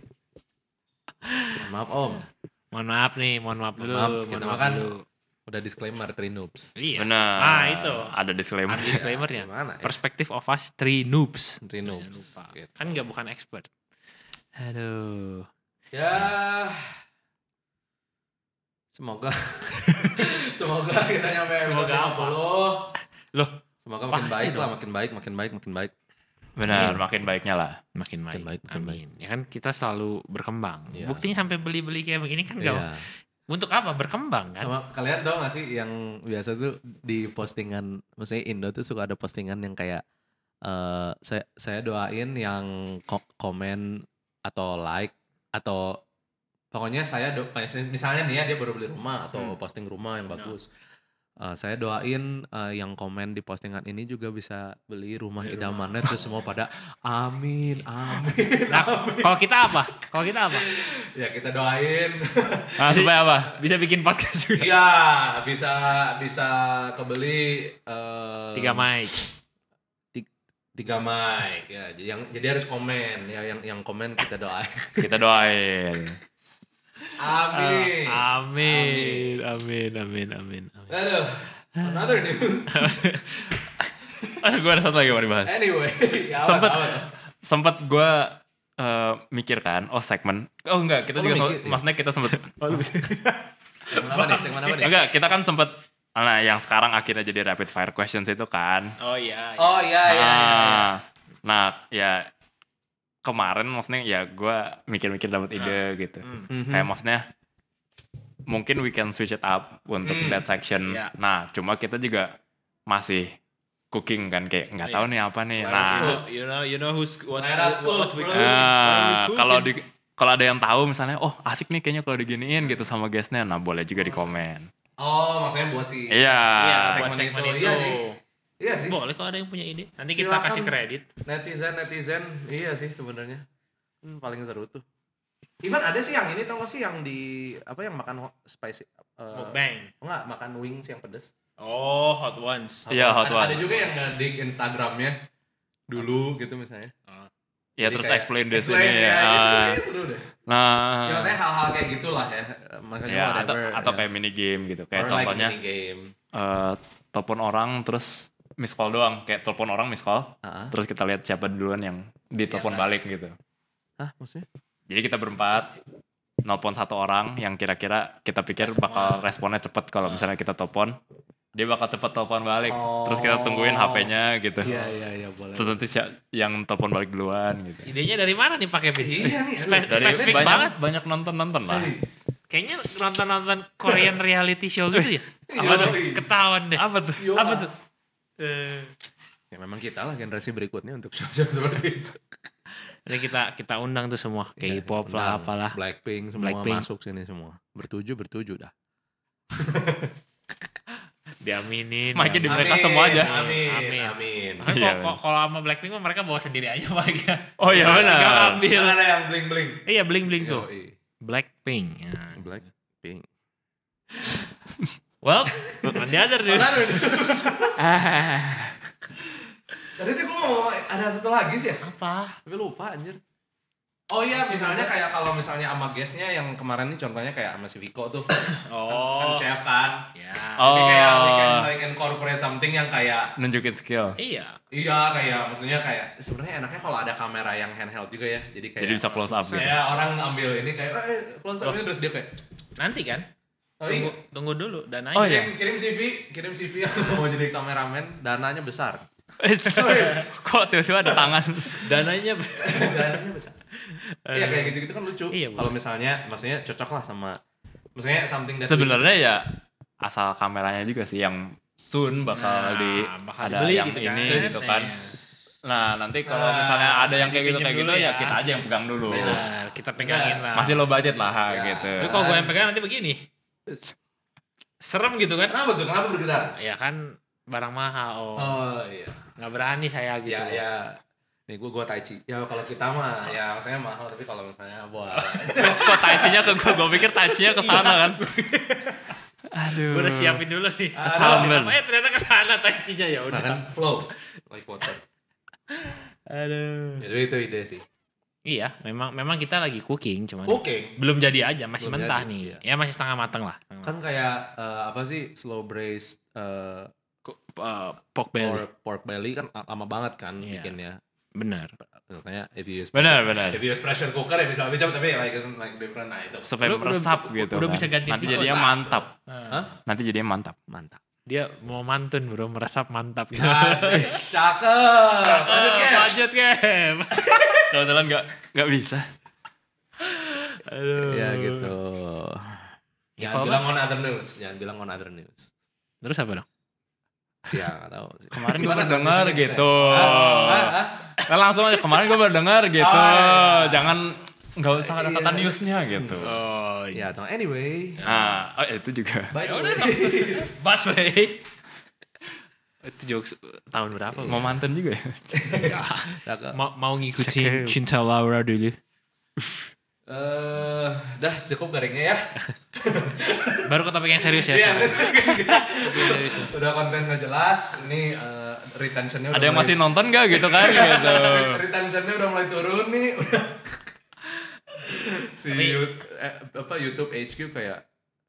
Maaf Om. Mohon maaf nih, mohon maaf dulu. Maaf, mohon kita maaf makan dulu. udah disclaimer three noobs. Iya. Benar. Ah itu. Ada disclaimer. Ada disclaimer ya. Gimana ya? Perspective of us three noobs. Three Jangan noobs. lupa. Gitu. Kan nggak bukan expert. Aduh. Ya semoga semoga kita nyampe episode Semoga lima apa? puluh. Loh, Semoga makin pasti baik lah, dong. makin baik, makin baik, makin baik. Benar, Iya. makin baiknya lah. makin baik. baik, makin Amin. Ya kan kita selalu berkembang. Iya. Buktinya sampai beli-beli kayak begini kan nggak. Iya. Untuk apa? Berkembang kan? Sama kalian tau gak sih yang biasa tuh di postingan, maksudnya Indo tuh suka ada postingan yang kayak eh saya saya doain yang ko- komen atau like atau pokoknya saya do, misalnya nih ya dia baru beli rumah atau Hmm. posting rumah yang bagus. Eh, saya doain eh, yang komen di postingan ini juga bisa beli rumah Beli idamannya terus semua pada amin amin. Nah, kalau kita apa? Kalau kita apa? Ya kita doain. Nah, supaya apa? Bisa bikin podcast juga. Iya, bisa bisa kebeli eh, Tiga mic. tiga mic ya. Jadi yang jadi harus komen ya yang yang komen kita doain. Kita doain. Amin. Ah, amin. Amin. Amin. Amin. Amin. Aduh, another news. Ah, gue ada satu lagi mau dibahas. Anyway, ya apa, Sempet apa? sempet gue eh, mikir kan, oh segmen. Oh enggak, kita Oh, lu juga mikir, sempet- iya. maksudnya kita sempet. Segmen apa nih? Segmen apa nih? Enggak, kita kan sempet. Nah, yang sekarang akhirnya jadi rapid fire questions itu kan. Oh iya. Oh iya iya. iya. Ah, nah, ya kemarin maksudnya ya gue mikir-mikir dapat ide gitu. Hmm. Mhm. Kayak maksudnya mungkin we can switch it up untuk Hmm, that section. iya. Nah, cuma kita juga masih cooking kan kayak nggak Iya. tahu nih apa nih. Let us Nah, know. You know, you know who's what's Let us cook, what's we bro. cooking. What ah, are we kalau cooking? di kalau ada yang tahu misalnya, oh asik nih kayaknya kalau diginiin gitu sama guestnya, nah boleh juga di komen. Oh, maksudnya buat si Iya. Iya, segmen buat segmen itu. itu. Iya sih. Iya sih. Boleh kalau ada yang punya ide. Nanti kita Silakan. kasih kredit. Netizen netizen iya sih sebenarnya. Hmm, paling seru tuh. Even ada sih yang ini tau gak sih yang di apa yang makan ho- spicy uh, Mukbang. enggak makan wings yang pedes. Oh, hot ones. Iya, hot ada, ada ones. juga yang nge-dig Instagramnya dulu gitu misalnya. Ya Jadi terus kayak explain this explain, ini ya, ya. itu Ah, kayaknya seru deh. Nah, Ya saya hal-hal kayak gitulah ya. Makanya ya atau, whatever. atau ya. kayak mini game gitu. Kayak Or contohnya like mini game. eh, telepon orang terus miss call doang. Kayak telepon orang miss call. Heeh. Terus kita lihat siapa duluan yang ditelepon Iya, balik gitu. Hah, maksudnya? Jadi kita berempat nelpon satu orang yang kira-kira kita pikir Respon. bakal responnya cepet kalau misalnya kita telepon. Dia bakal cepet telepon balik. Oh. Terus kita tungguin H P-nya gitu. Iya, iya, iya, boleh. Terus nanti si- yang telepon balik duluan gitu. Idenya dari mana nih Pak Kevin? Iya nih, Spe- aduh. Dari spesifik banyak, banget. banyak nonton-nonton lah. Kayaknya nonton-nonton Korean reality show gitu ya. Apa Iya, tuh? iya. Ketahuan deh. Apa tuh? Yo, Apa ah. tuh? Eh, Ya memang kita lah generasi berikutnya untuk show-show seperti itu. Nanti kita kita undang tuh semua. Iya, K-pop lah, undang apalah. Blackpink semua Blackpink. masuk sini semua. Bertuju bertuju dah. Diaminin. Mic-nya di diaminin. mereka semua aja. Amin. Amin. Amin. Makanya Iya, kalau- kalau sama Blackpink mah mereka bawa sendiri aja mic-nya. Oh iya Nggak benar. ambil. Yang ada yang bling-bling. Iya bling-bling tuh. Yoi. Blackpink. Ya. Blackpink. Well, on the other news. Tadi tuh gue mau ada satu lagi sih ya. Apa? Tapi lupa anjir. Oh iya, misalnya kayak kalau misalnya sama guestnya yang kemarin nih contohnya kayak sama si Viko tuh. Oh. Kan chef kan. Ya. Jadi kayak we can Oh. like incorporate something yang kayak Nunjukin skill. Iya. iya kayak maksudnya kayak sebenarnya enaknya kalau ada kamera yang handheld juga ya. Jadi kayak Jadi bisa close up gitu. Kayak orang ambil ini kayak eh close up ini terus dia kayak Nanti kan? oh, Tunggu, iya. tunggu dulu dananya. Oh, iya. kirim, kirim C V, kirim C V yang mau jadi kameramen, dananya besar. Kok tiba-tiba ada tangan? Dananya dananya besar. Iya kayak gitu-gitu kan lucu. Iya, kalau misalnya maksudnya cocok lah sama maksudnya something that Sebenarnya ya asal kameranya juga sih yang soon bakal Nah, di bakal ada dibeli yang gitu kan. ini gitu kan. Iya. Nah, nanti kalau Nah, misalnya ada yang kayak gitu dipinjem kayak gitu dulu ya ya. kita aja yang pegang dulu. Benar, kita pegangin lah. Masih low budget lah Ya. gitu. Tapi kalau gue yang pegang nanti begini. Serem gitu kan? Kenapa tuh? Kenapa bergetar? Ya kan barang mahal. Oh. Oh iya. Nggak berani saya gitu. Ya ya. Nih gue gue tai chi. Ya kalau kita mah ya maksudnya mahal tapi kalau misalnya buat Terus kok tai-nya ke gue, gue pikir tai-nya ke sana kan. Aduh. Gue udah siapin dulu nih. Kesamber. Apa ya ternyata ke sana taicinya ya udah. kan flow like water. Aduh. Jadi itu ide sih. Iya, memang memang kita lagi cooking cuman Cooking belum jadi aja, masih Belum mentah jadi, nih. iya. Ya masih setengah matang lah. kan kayak eh, apa sih slow braised eh, Uh, pork belly. pork, pork belly kan lama banget kan Iya. bikinnya. Benar. Misalnya if you use Benar, benar. if you use pressure cooker ya bisa lebih cepat tapi like isn't like different nah itu. Supaya Udah- meresap udah- gitu udah kan. bisa ganti Nanti video. jadinya Meresap. mantap. Hah? Nanti jadinya mantap. Mantap. Dia mau mantun bro, meresap mantap gitu. Asik, cakep. Lanjut Oh, Gap. lanjut Gap. Kebetulan nggak nggak bisa. Aduh. Ya gitu. Ya, Jangan kalau bilang on other news, jangan bilang on other news. Terus apa dong? Ya nggak tahu. sih. Kemarin gue Gimana baru dengar transisinya gitu. kita? Ah, ah, ah. Nah, langsung aja kemarin gue baru dengar gitu. Oh, iya. Jangan nggak usah ada kata Iya. newsnya gitu. Oh, Ya, atau anyway. Nah, oh itu juga. By the udah, way. Bas baik. Itu jokes tahun berapa? Mau mantan juga ya? Cakep. mau, mau Cakep. ngikutin Cinta Laura dulu. Eh, dah cukup garingnya ya. Baru ke topik yang serius ya. Iya. sekarang. Topik yang serius. Udah konten nggak jelas. Ini eh, retentionnya udah Ada yang mulai- masih nonton gak gitu kan? Gitu. retentionnya udah mulai turun nih. Udah. si Tapi- You- eh, apa YouTube H Q kayak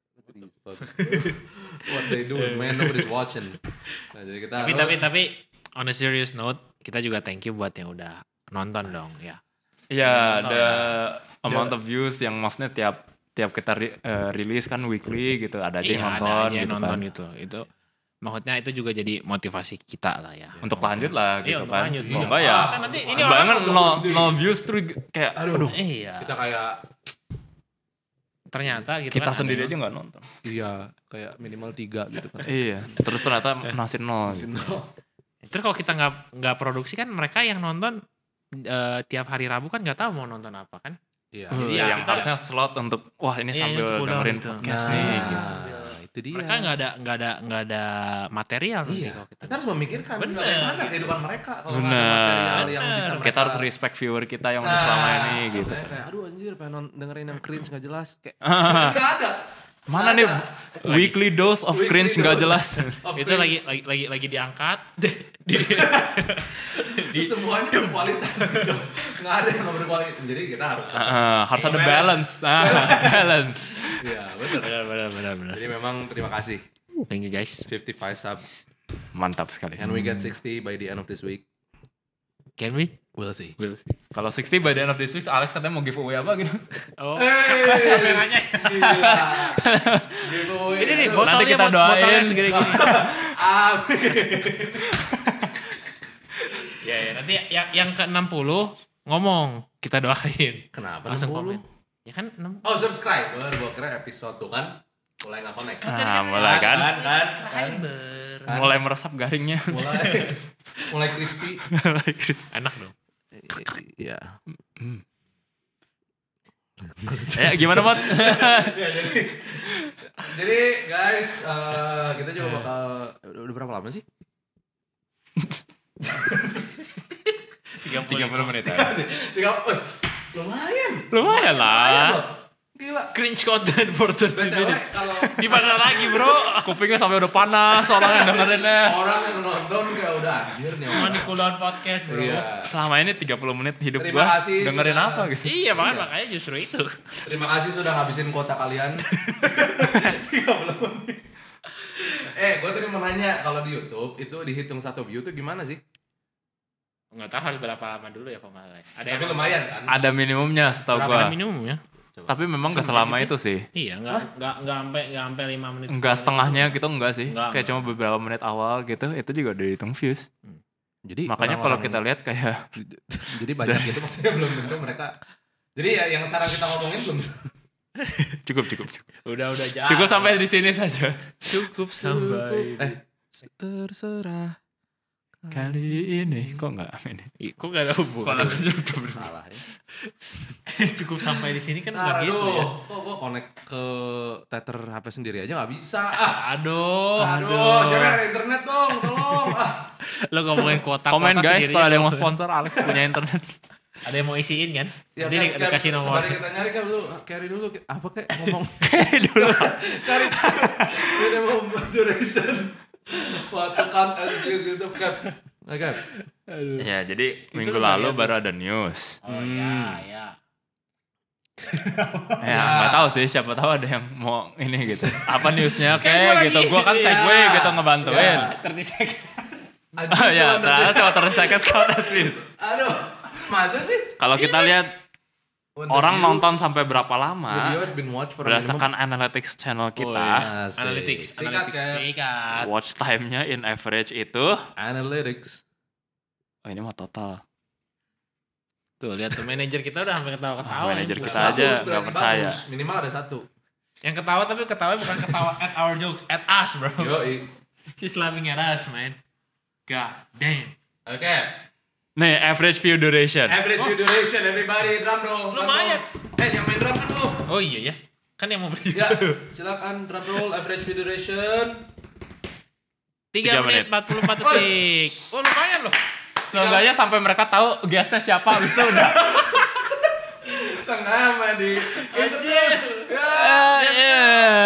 what they do man nobody's watching. Nah, jadi kita Tapi harus- tapi tapi on a serious note, kita juga thank you buat yang udah nonton dong ya. Ya, Nonton. the amount of views yang maksudnya tiap tiap kita ri- eh, rilis kan weekly gitu, ada aja yang Iya, nonton ada aja yang gitu nonton kan. gitu. Itu maksudnya itu juga jadi motivasi kita lah ya. Untuk lanjut lah Iya, gitu untuk kan. lanjut. Kalau Iya. enggak ya. Kan nanti ini Bayangin orang no, satu no views terus kayak aduh, Iya. kita kayak Ternyata gitu kita kan sendiri ada aja nggak nonton. iya kayak minimal tiga gitu kan. Iya. Terus ternyata masih nol. Gitu. yang- Terus kalau kita nggak nggak produksi kan mereka yang nonton eh, tiap hari Rabu kan nggak tahu mau nonton apa kan? Iya. Uh, Jadi ya yang kita- harusnya slot untuk wah ini Iya, sambil untuk cool down dengerin gitu. podcast Nah, nih gitu. itu dia. Mereka nggak ada nggak ada nggak ada material nanti Iya, kalau kita. kita harus memikirkan Bener. bagaimana kehidupan mereka kalau nggak ada Bener. material yang bisa Bener. mereka Kita harus respect viewer kita yang udah selama ini gitu. Saya kayak aduh anjir pengen non- dengerin yang cringe nggak jelas kayak Ah, nggak ada. mana nih weekly dose of Weekly cringe nggak dose. jelas. Of Itu cringe. lagi lagi lagi lagi diangkat. di, Di semuanya berkualitas gitu. Nggak ada yang nggak berkualitas. Jadi kita harus Ah, harus ada balance. Ah, balance. Iya benar. benar benar benar benar. Jadi memang terima kasih Thank you guys. fifty-five sub Mantap sekali. and we get sixty by the end of this week. Can we? We'll see. Kalau sixty by the end of this week, Alex katanya mau giveaway apa gitu. Oh. Hey, kameranya. gila. Giveaway. Ini nih Aduh. botolnya Nanti kita bot- botolnya doain. segede gini. Amin. Ya, ya nanti yang yang ke enam puluh ngomong kita doain. Kenapa Langsung enam puluh? komen. Ya kan enam Oh subscriber, gua kira episode tuh kan mulai nggak connect. Ah, mulai kan. Kan, kan, subscriber. Kan? Mulai meresap garingnya. mulai mulai crispy. Enak dong. Iya. Ya gimana Mot? Ya, jadi jadi guys eh, kita juga bakal udah, udah berapa lama sih? tiga puluh menit. Tiga, eh, lumayan. Lumayan Lumayan lah. loh. Gila. Cringe content for thirty B T W minutes. kalau Di mana lagi bro? Kupingnya sampai udah panas orang yang dengerinnya. orang yang nonton kayak udah anjir nih. Cuma orang. di cooldown podcast bro. Iya. Selama ini tiga puluh menit hidup Terima gua kasih dengerin sudah- apa gitu. Iya makanya Iya. makanya justru itu. Terima kasih sudah ngabisin kuota kalian. tiga puluh menit. Eh, gue tadi mau nanya kalau di YouTube itu dihitung satu view tuh gimana sih? Nggak tahu harus berapa lama dulu ya kalau nggak salah. Ada Tapi lumayan kan? Ada minimumnya setahu Berapa gua. minimum ya? Tapi memang gak selama itu sih. Iya nggak nggak nggak sampai nggak sampai lima menit. Enggak setengahnya gitu enggak sih. Enggak, Kayak enggak. cuma beberapa menit awal gitu itu juga udah dihitung views. Jadi Makanya kalau kita lihat kayak jadi banyak gitu maksudnya belum tentu mereka. Jadi ya yang sekarang kita ngomongin belum. cukup cukup cukup. Udah udah jauh. Cukup sampai di sini saja. Cukup sampai. Eh, terserah Kali ini kok enggak ini. Ih, kok gak ada hubungan? salah ya. Cukup sampai di sini kan Nah, nggak gitu ya. Kok gue connect ke tether H P sendiri aja nggak bisa. Ah, Aduh, aduh, siapa yang ada internet dong, tolong. Ah. Lo ngomongin kuota. Komen kuota guys sendiri kalau ada aja. yang mau sponsor Alex punya internet. Ada yang mau isiin kan? Ya, Nanti di- kan, dikasih kan, nomor. Sebalik kita nyari kan dulu, carry dulu. Apa kayak ngomong. Dulu. Cari tahu. Minimum duration. Waktu count as views YouTube kan. Oke. Ya, jadi minggu lumayan lalu tuh. baru ada news. Oh ya, ya. Ya, nggak tahu sih, siapa tahu ada yang mau ini gitu. Apa newsnya Kayak gua kayak gitu. lagi- Gua kan iya. segue gitu ngebantuin. Iya. thirty second. Oh ya, ternyata cuma terus second count as views. Aduh, masa sih? Kalau kita lihat When the orang views- nonton sampai berapa The lama video has been watched for a minimum- berdasarkan analytics channel kita, iya. Asik. Analytics, Sikat, analytics, Cap. sikat. watch time-nya in average itu, Analytics. oh ini mah total. Tuh lihat tuh manajer kita udah sampai ketawa-ketawa. Ah, manajer Yang kita ketawa. aja Bagus, nggak berarti percaya. bagus. Minimal ada satu. Yang ketawa tapi ketawa bukan ketawa at our jokes, at us bro. Yoi. She's laughing at us man. God damn. Oke. Nih, average view duration. Average view duration, everybody drum roll. drum Lumayan. roll. Eh, yang main drum kan lu. Oh iya ya. Kan yang mau beli. Ya, silakan drum roll average view duration. Tiga tiga menit menit. empat puluh empat detik. Oh lumayan loh. Seenggaknya sampai mereka tahu guestnya siapa, habis itu udah. Setengah mah di itu terus. Ya. Eh, iya.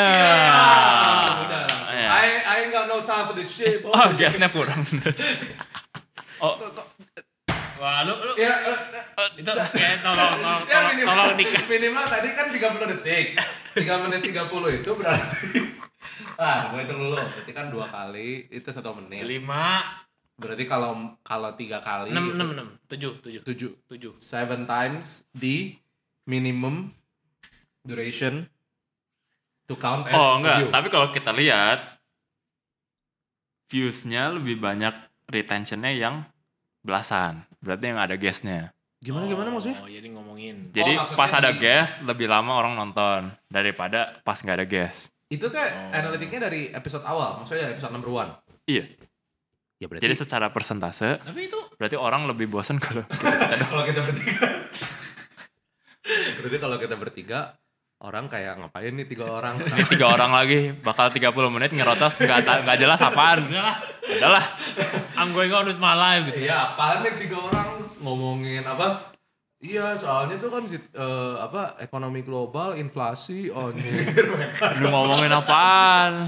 Udah langsung. Iya. I I ain't got no time for this shit. boy. Oh, guestnya kurang. Oh, Wah lu lu Ya, eh, eh, itu kayak tolong tolong ya tolong, minimal, tolong dikasih. minimal tadi kan tiga puluh detik. tiga menit tiga puluh itu berarti ah, gue hitung dulu. Berarti kan dua kali itu satu menit. lima Berarti kalau kalau tiga kali enam itu enam enam tujuh tujuh tujuh tujuh. seven times the minimum duration to count as oh enggak, view. tapi kalau kita lihat views-nya lebih banyak retention-nya yang belasan. Berarti yang ada guest-nya. Gimana gimana maksudnya? Oh jadi ngomongin. Jadi maksudnya pas ada di- guest lebih lama orang nonton daripada pas nggak ada guest. Itu teh Oh. analitiknya dari episode awal, maksudnya dari episode number one. Iya. Ya berarti Jadi secara persentase Tapi itu berarti orang lebih bosan kalau kalau kita bertiga. Berarti kalau kita bertiga orang kayak ngapain nih tiga orang? ini tiga orang lagi bakal tiga puluh menit ngerocos nggak ta- nggak jelas apaan. udahlah. Udahlah. I'm going on with my life gitu. Iya, apaan nih tiga orang ngomongin apa? Iya, soalnya tuh kan sit- eh, apa ekonomi global, inflasi, oh Lu ngomongin apaan?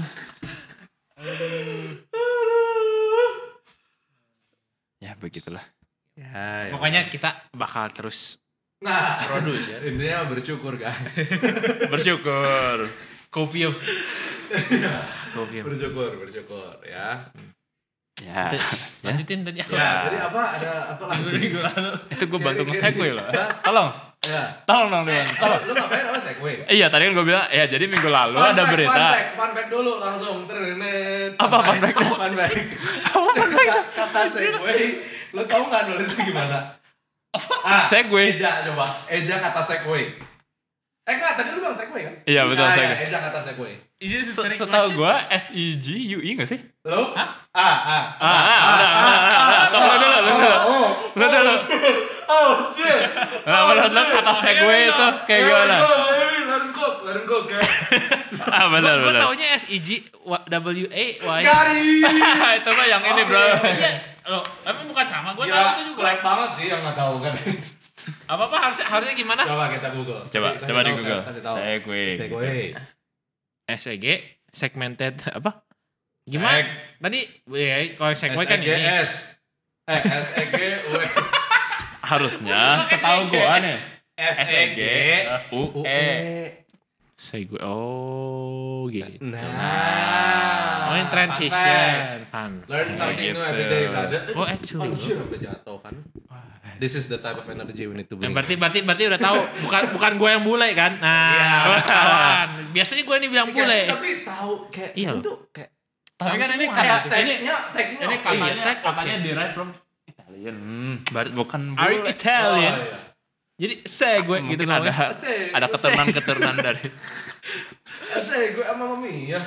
Ya begitulah. ya, ya. Pokoknya kita bakal terus Nah, produce ya. intinya bersyukur guys. Bersyukur. Kopium. Kopium. bersyukur, bersyukur ya. Ya. Lanjutin tadi aku. Ya, jadi apa ada apa lagi? Minggu lalu. Itu gue bantu Jadi- nge-segue loh. Hah? Tolong. Ya. Tolong dong, Dewan. Lu, Tolong. lu ngapain apa segway? Iya, tadi kan gue bilang, ya jadi minggu lalu Fun ada fact, berita. Fun fact, fun fact dulu langsung. Terenet. Apa fun fact? Fun fact. Kata- Kata segway, lu tau nggak nulisnya gimana? Ah, Segway. Eja coba. Eja kata segway. Eh enggak, tadi lu bilang segway kan? Iya, betul, Nah, segway. ya, Eja kata segway. Is this Se- historic Setahu question? gue S E G U I nggak sih? Lu? Hah? Ah, ah. Ah, ah, udah, udah, udah, udah. Stop, lu dulu, lu dulu. Oh, Lu dulu. oh shit. Nah, menurut lu kata segway itu kayak gimana? Let it go, baby. Let it go, let it go, guys. Ah, benar, Gue benar. taunya S E G W A Y. Gari. Itu mah yang ini, bro. Iya. Loh, tapi bukan sama. Gue tahu Gila, itu juga. black banget sih yang nggak tahu kan. Apa-apa harusnya harusnya gimana? Coba kita Google. Coba Kasih- coba kasih di tahu, Google. kasih tahu. Segway. Segway. S E G segmented apa? Gimana? Seg. Tadi ya kalau segway kan ini. S Eh S E G W Harusnya setahu gua nih. S S E E G G U E. Segway. Oh, gitu. Nah. Oh, yang transition, fun. Learn something Gitu. new every day, brother. Oh, actually. Anjir, sampai jatuh kan. This is the type of energy we need to bring. Yang berarti berarti berarti udah tahu bukan bukan gue yang bule kan? Nah, Iya. ketahuan. Biasanya gue ini bilang Si Kevin bule. tapi tahu kayak Iya itu loh. kayak Tapi kan ini Semua kayak gitu. ini tag-nya tag-nya ini oke. katanya Iya, tag katanya oke. derived from Italian. Hmm, bar- bukan Are you bule. Italian? Oh, iya. Jadi segway Mungkin gitu ada namanya. Asik, ada asik. keturunan-keturunan dari Asik, gue sama mami ya.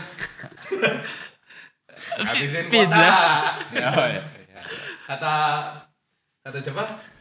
Habisin Pizza. kuota. Oh, iya. Kata kata siapa?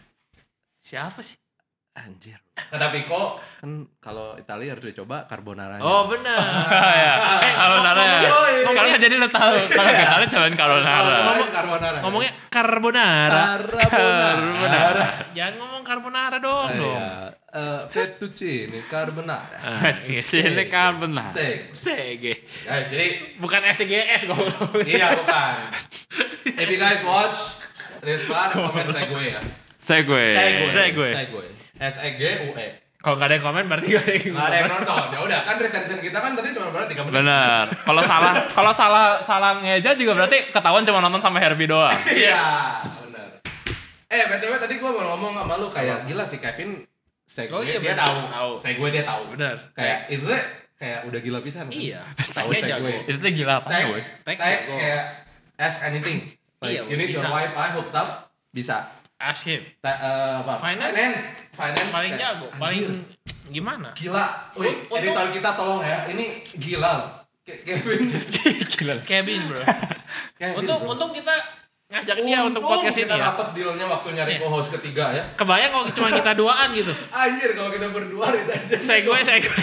Siapa sih? Anjir. Kata Piko kan kalau Italia harus dicoba carbonara. Oh, benar. ya. Carbonara ya. ngomong- Sekarang jadi lo tahu kalau kita lihat cobain carbonara. ngomong carbonara. Ngomongnya carbonara. carbonara. Jangan ngomong carbonara dong, Ah, dong. iya. Eh, fettuccine carbonara. Ah, Sini carbonara. Seg. Sege. Guys, jadi Bukan S G S goblok. iya bukan. If you guys watch this part, komen Segway ya. Segway. Segway. Segway. S E G U E. Kalau nggak ada yang komen berarti nggak ada yang Nggak ada yang komen. nonton. Ya udah kan retention kita kan tadi cuma berarti tiga menit. Bener. Kalau salah kalau salah salah ngeja juga berarti ketahuan cuma nonton sampai Herbie doang. Iya, benar. Eh, B T W tadi gua mau ngomong sama lu kayak gila sih Kevin Segway Oh iya, dia bener. tahu. Tahu. Segway dia tahu. Bener. Kayak itu tuh kayak udah gila pisan. kan? Iya. Tahu Tagnya jago. Segway. Itu tuh gila apa Tag, boy? Tag tag jago. kayak ask anything. Like, Iya, you need bisa. your wifi hooked up, bisa. Ask him. Ta- eh, apa? Finance? Finance. Finance Paling kayak, jago, anjir, paling gimana? gila. Wih, Untung- editor kita tolong ya. Ini gila loh. Ke- Kevin. Gila. Kevin, bro. Kevin, Untung bro. untung kita ngajak dia untuk podcast ini kita ya. dapet dealnya waktu nyari Iya. co-host ketiga ya. Kebayang kalau cuma kita duaan gitu. Anjir kalau kita berdua retention. Segway, segway.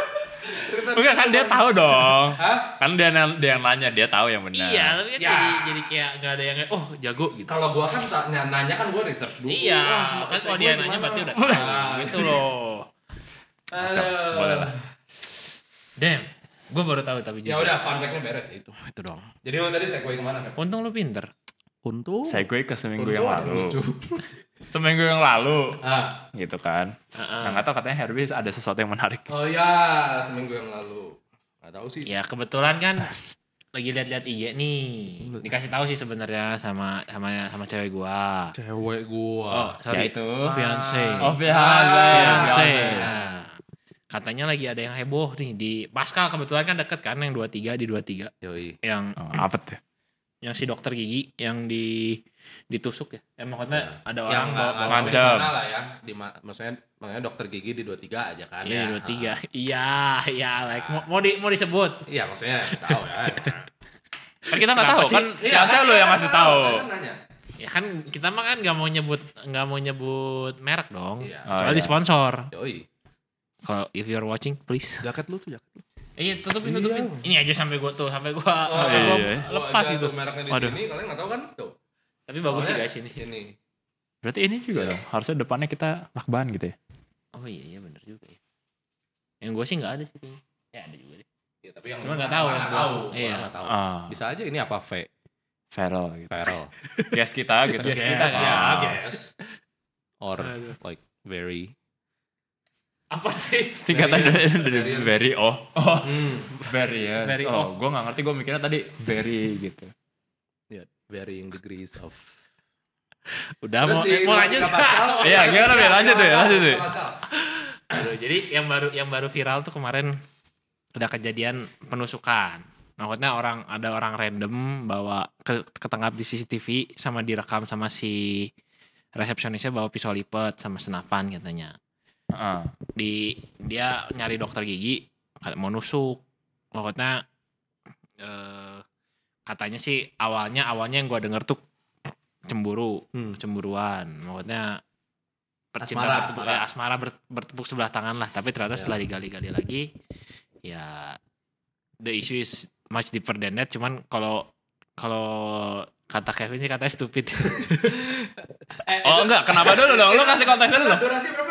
Enggak kan dia tahu dong. Hah? Kan dia yang dia yang nanya, dia tahu yang benar. Iya, tapi kan Ya. jadi jadi kayak nggak ada yang oh jago gitu. Kalau gua kan tak- ny- nanya kan gua research dulu. Iya, Wah, sama kan kalau Segway dia nanya gimana? berarti udah Nah, tahu gitu loh. Aduh. Boleh lah. Damn, gue baru tahu tapi Ya jujur. udah, fun fact-nya beres ya itu. Itu dong. Jadi lu tadi Segway kemana kan? Untung lu pinter. Untung. Segway ke seminggu Untung yang ada lalu. lucu. Seminggu yang lalu. Ah. Gitu kan. Heeh. Nah, nggak tahu katanya Herbie ada sesuatu yang menarik. Oh ya, seminggu yang lalu. Gak tahu sih. Ya kebetulan kan lagi lihat-lihat I G nih. Dikasih tahu sih sebenarnya sama sama sama cewek gua. Cewek gua. Oh, sorry. Yaitu Fiance. Oh, fiance. Fiance. Fiance. Nah, katanya lagi ada yang heboh nih di Pascal, kebetulan kan deket kan yang dua puluh tiga di dua puluh tiga. Yoi. Yang Oh, apa tuh? yang si dokter gigi yang di ditusuk ya. Ya maksudnya ada orang Yang bawa, nggak bawa nggak Ngancam. profesional lah ya. Di ma- maksudnya makanya dokter gigi di dua puluh tiga aja kan Iya, ya. dua puluh tiga. Iya, iya, like mau mau, di, mau disebut. Iya, maksudnya tahu ya. Kan kita nggak Kenapa tahu sih? kan Iya, fiance kan lu yang kita ngasih tahu, tahu. kan nanya. Ya kan kita mah kan nggak mau nyebut nggak mau nyebut merek dong. Iya. Oh, Kecuali iya. sponsor. Yoi. Kalau if you're watching, please. Jaket lu tuh jaket lu. Iya, tutupin, Iya. tutupin. Ini aja sampai gua tuh, sampai gua, Oh, sampai gua iya. lepas Gua itu. aja tuh mereknya di Waduh. sini, kalian nggak tahu kan? Tuh. Tapi bagus sih Soalnya guys ini. Sini. Berarti ini juga dong. Harusnya depannya kita lakban gitu ya. Oh iya, iya bener juga ya. Yang gua sih nggak ada sih kayaknya. Ya ada juga deh. Ya, tapi yang Cuma nggak tahu, nggak yang tahu. gua- Iya. iya. Nggak tahu. Ah, Bisa aja ini apa V? Feral gitu. Feral. Guest kita gitu. Guest kita, Ah. ya, guess. Or Aduh. like very. Apa sih? Singkatan dari, Variance, dari variance. very oh. Oh, Hmm. variance. Very oh, oh. gue nggak ngerti. Gue mikirnya tadi very gitu. Ya, varying degrees of. Udah Terus mau di mau dua lanjut. tiga Pascal, Iya, gimana, Bi? Lanjut deh, lanjut deh. Pascal. Aduh, jadi yang baru yang baru viral tuh kemarin udah kejadian penusukan. Maksudnya orang ada orang random bawa ke ketangkap di C C T V sama direkam sama si resepsionisnya bawa pisau lipat sama senapan katanya. Heeh. Di dia nyari dokter gigi mau nusuk. Maksudnya eh, katanya sih awalnya awalnya yang gua denger tuh cemburu, Hmm. cemburuan. Maksudnya percintaan Asmara, bertepuk, asmara. ya, asmara ber- bertepuk sebelah tangan lah. Tapi ternyata Ya. setelah digali-gali lagi, ya the issue is much deeper than that. Cuman kalau kalau kata Kevin sih katanya stupid. Eh, Oh itu- enggak, kenapa dulu dong? Lu kasih konteks dulu dong. Durasi berapa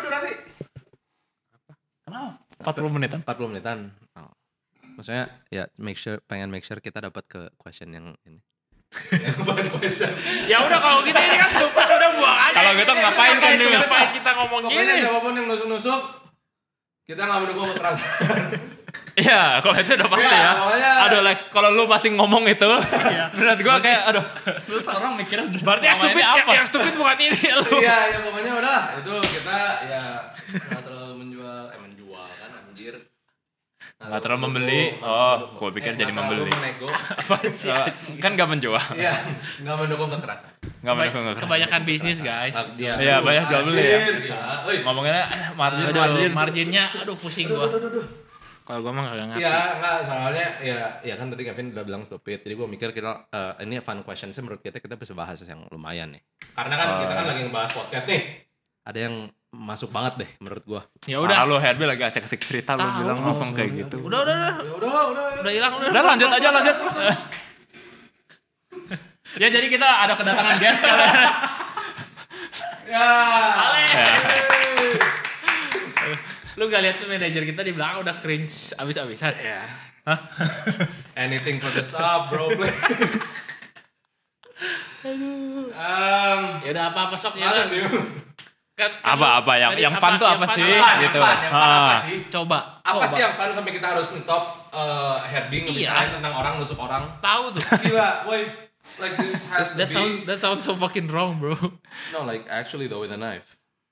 empat puluh menitan. empat puluh menitan. Oh. Maksudnya ya make sure pengen make sure kita dapat ke question yang ini. Ya udah kalau gitu ini kan super udah buang aja. Kalau gitu ngapain kan ini? Ngapain kita ngomong Pokoknya gini? siapapun yang nusuk-nusuk kita nggak mendukung kekerasan. Iya, kalau itu udah pasti ya. Ya, pokoknya- Aduh Lex, kalau lu pasti ngomong itu, menurut gua kayak aduh, lu orang mikirnya Berarti yang selama ini stupid apa? yang stupid bukan ini lu. Iya, ya pokoknya udah itu kita ya nggak terlalu menjual, eh menjual kan anjir. Nggak terlalu membeli. Oh, gua pikir jadi membeli. Menego. Apa sih? Eh, kan gak menjual, Iya, nggak mendukung kekerasan. nggak mendukung kekerasan. Kebanyakan bisnis guys. Iya, banyak jual beli ya. Oi, Ngomongnya eh, margin, Aduh, margin. marginnya aduh pusing gua. Kalau gua mah kagak ngerti. Iya, enggak soalnya ya ya kan tadi Kevin udah bilang stupid. Jadi gue mikir kita eh, ini fun question sih menurut kita kita bisa bahas yang lumayan nih. Karena kan Oh. kita kan lagi ngebahas podcast nih. Ada yang masuk banget deh menurut gua. Ya Udah, udah. lu Herbie lagi asik-asik cerita, lu Tahu, bilang langsung kayak gitu. Udah udah udah. Ya udah lah, udah. Udah hilang udah. Udah lanjut aja, lanjut. Ya jadi kita ada kedatangan guest kalian. Ya. Ale. Ya. Lu gak lihat tuh manajer kita di belakang udah cringe abis-abisan. Ya. Anything for the sub, bro. Um, Ya udah apa-apa sok ya. Masa udah. news. Kan, kan Apa-apa lu- yang tadi yang fun tuh apa yang sih Yang fun, gitu. yang fun, yang fun apa Ah. sih? Coba. Apa coba. sih yang fun sampai kita harus ngetop uh, heading Iya. ngebicarain tentang orang nusuk orang? Tahu tuh. Gila, woi. Like this has to That be. sounds that sounds so fucking wrong, bro. No, like actually though with a knife.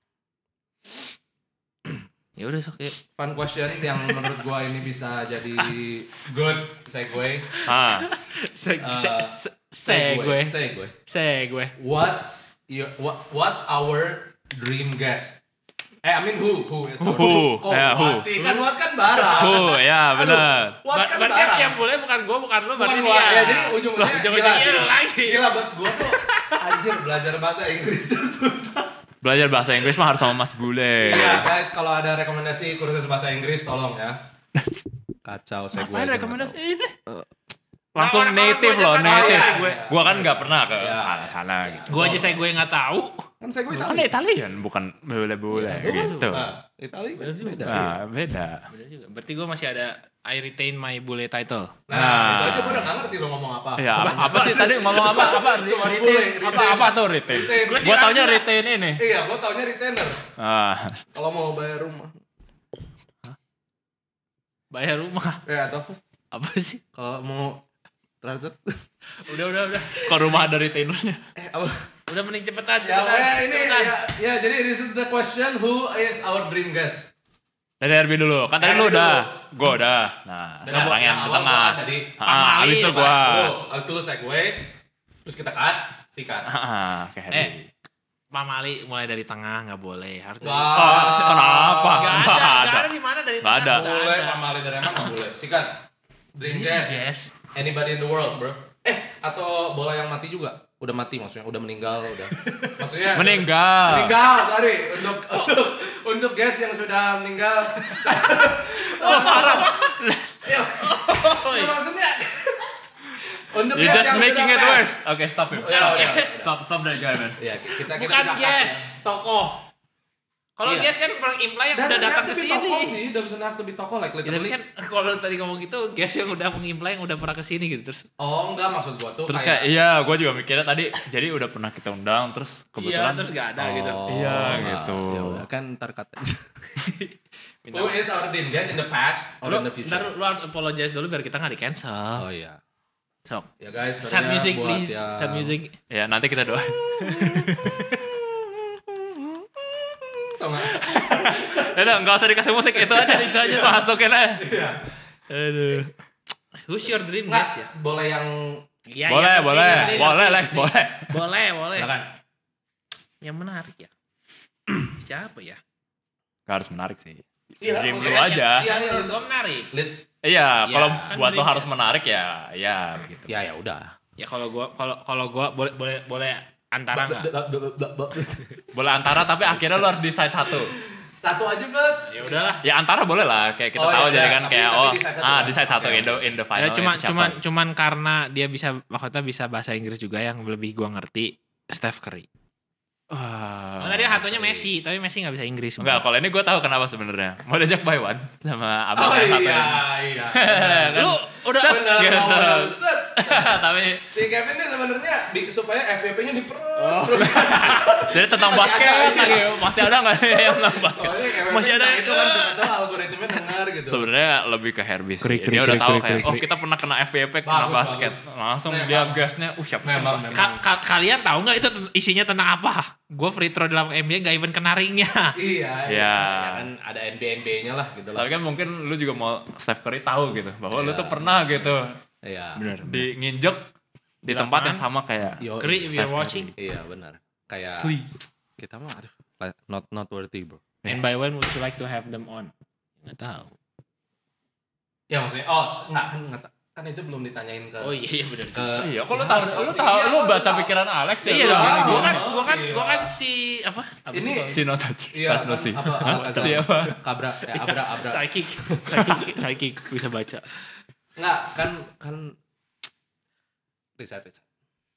Ya udah sok ya. Fun questions yang menurut gua ini bisa jadi good segue. Ah. Se Uh, se se segue. Segue. Segue. What's your what, what's our dream guest? Eh, I mean who? Who is our Who? Kok Ya, what who? sih? Kan what kan barang. Oh, ya benar. What Ber- kan berarti barang. yang boleh bukan gua, bukan lu, berarti Bukan dia. gua. Ya, jadi ujung-ujungnya ujung-ujungnya gila, lu gila. lagi. Gila buat gua tuh anjir belajar bahasa Inggris tuh susah. Belajar bahasa Inggris mah harus sama Mas Bule. Iya, guys, kalau ada rekomendasi kursus bahasa Inggris tolong ya. Kacau segue. Apa aja rekomendasi nggak ini? Langsung Orang- native orang loh, gua aja kan native. tahu ya. Gua kan nggak pernah ke Ya. sana-sana gitu. Gua aja saya gue nggak tahu. tahu. Kan segue Kan Itali. Italian, bukan bule-bule gitu. Nah, Itali kan beda. Nah, beda. Bener juga. Berarti gua masih ada I retain my bule title. Nah, Nah. itu aja gua udah nggak ngerti lo ngomong apa. Ya, apa, apa sih tadi ngomong apa? Apa? Cuma Retain? bule, Apa retain. apa tuh retain? Retain. Gua taunya retain ini. Iya, gua taunya retainer. Ah, Kalau mau bayar rumah. Bayar rumah. Ya, atau Apa sih? kalau mau transit. Udah udah udah. kok rumah ada retainernya? Eh, apa? Udah mending cepetan Ya, cepetan. pokoknya ini cepetan. ya, ya, jadi this is the question, who is our dream guest? Dari Herbie dulu. Kan tadi lu Herbie udah. dulu. Gua udah. Nah, sekarang yang di awal tengah. gua kan tadi. Ah, abis itu gua. Tuh, abis itu segue, terus kita cut, sikat. Ah, oke Herbie. Eh, Pak Mali mulai dari tengah nggak boleh. Harus dari Wah. Ah, kenapa? Nggak ada, Nggak nggak ada. ada di mana dari Nggak tengah. ada. Boleh, Pak Mali dari mana nggak boleh. Sikat. Dream guest. Yes. Anybody in the world, bro. Eh, atau bola yang mati juga? Udah mati maksudnya, udah meninggal, udah. Maksudnya Meninggal. Meninggal, sorry. Untuk untuk untuk guys yang sudah meninggal. Oh, parah. Ya, ya, maksudnya untuk You're guys just yang making sudah it pass. worse. Oke, stop it. Ya, udah. Stop, stop dari guy, man. Iya, kita kita Bukan bisa cut guys, ya. tokoh. Kalau Iya. guest kan imply yang udah Doesn't datang have ke to be tokoh sini. sih, doesn't have to be tokoh like Ya, tapi literally. kan kalau tadi ngomong gitu, guest yang udah mengimply yang udah pernah ke sini gitu terus. Oh, enggak maksud gua tuh Terus kayak iya, gue juga mikirnya tadi. Jadi udah pernah kita undang, terus Iya, kebetulan. terus nggak ada gitu. Iya, nah, gitu. Ya udah kan ntar kata. Minta Who is our dream guest in the past or Lu, in the future? ntar lu harus apologize dulu biar kita nggak di cancel. Oh iya. Sok. Ya guys, Sad sorry ya music buat please. yang- Sad music. Ya, nanti kita doain. Tau nggak? Udah, nggak usah dikasih musik, itu aja, itu aja tuh masukin aja. Aduh. Who's your dream Nggak, guest ya? boleh yang Iya, Boleh, iya, ngerti, boleh, ngerti, boleh, ngerti. Lex, boleh. Boleh, boleh. silakan. Yang menarik ya. Siapa ya? Gak harus menarik sih. Iya, Dream lu maksudnya- aja. Iya, iya. Menurut gua menarik. Lit. Iya, Ya, kalau kan buat lo dream harus ya. menarik ya, ya begitu. Ya ya udah. Ya kalau gua kalau kalau gua boleh boleh boleh antara enggak? Boleh antara, tapi akhirnya lo harus decide satu. Satu aja, Bet. Ya udahlah. Ya antara boleh lah, kayak kita Oh, tahu iya, jadi iya. kan Tapi- kayak tapi oh decide satu ah kan? decide satu Oke, in the oke. in the final Ya cuma itu siapa. cuman cuman karena dia bisa maksudnya bisa bahasa Inggris juga yang lebih gua ngerti Steph Curry. Wah, tadi hatunya Messi, tapi Messi nggak bisa Inggris. Enggak, kalau ini gue tahu kenapa sebenarnya. Mau diajak Baywan sama abang Oh yang iya, iya. Kan? Lu udah Bener, Gitu. oh, set. Tapi Si Kevin ini sebenarnya di, supaya F Y P-nya diperos. Oh. terus. jadi tentang Masih basket ada, lagi masih ada nggak yang tentang basket? Soalnya Kevin Masih ada itu kan siapa tahu algoritmanya dengar gitu. Sebenarnya lebih ke Herbie sih. Krik, krik, Dia udah krik, tahu krik, kayak, krik, oh krik. kita pernah kena F Y P, kena Bagus, basket. bagus. Langsung Memang. dia gasnya, uh siapa sih Memang, basket? Ka- ka- kalian tahu nggak itu ten- isinya tentang apa? Gue free throw dalam N B A nggak even kena ringnya. Iya, Iya. iya. Ya kan ada N B A N B A-nya lah gitu lah. Tapi kan mungkin lu juga mau Steph Curry tahu gitu, bahwa lu Iya. tuh pernah gitu Iya. Bener. di nginjek di Di tempat lapangan. yang sama kayak Yo, Kri, if Steph you're Curry. watching, Iya benar. Kayak Please. kita mah aduh not not worthy bro. and by when would you like to have them on? Nggak tahu. Ya maksudnya oh enggak kan enggak ta- kan itu belum ditanyain ke Oh iya iya benar. ke Iya, kok lu tahu, lu tahu, Iya, lu lu baca tahu. pikiran Alex ya? Iya lu dong. gini, Gue gini. kan gue kan Iya. gue kan si apa? Apa Ini- sih? Si no touch, Iya, touch no kan, see. apa, Hah? apa, Siapa? Kabra ya abra abra. Psychic, psychic, psychic bisa baca. Enggak kan kan riset riset.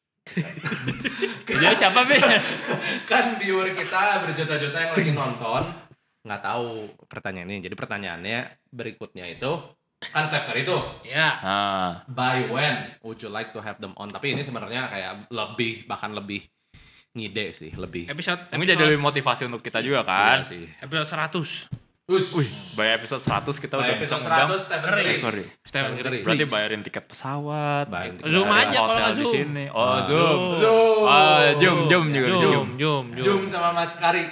Jadi siapa Bi? Kan viewer kita berjuta-juta yang lagi nonton nggak tahu pertanyaannya. Jadi pertanyaannya berikutnya itu kan Steph Curry itu Ya. Ah, by when would you like to have them on? Tapi ini sebenarnya kayak lebih bahkan lebih ngide sih, lebih. Episode mungkin jadi lebih motivasi untuk kita juga kan. Iya sih. episode seratus. Us. Wih, by episode seratus kita udah By bisa episode ngundang seratus Stephen Curry. Curry. Steph Curry. Stephen Curry. Berarti bayarin tiket pesawat, Bayarin tiket Zoom pesawat. aja kalau hotel nggak di Zoom. sini. Oh, Ah. Zoom. Zoom. Oh, Zoom, Zoom juga di Jum, Zoom. jum, Jum sama Mas Kari.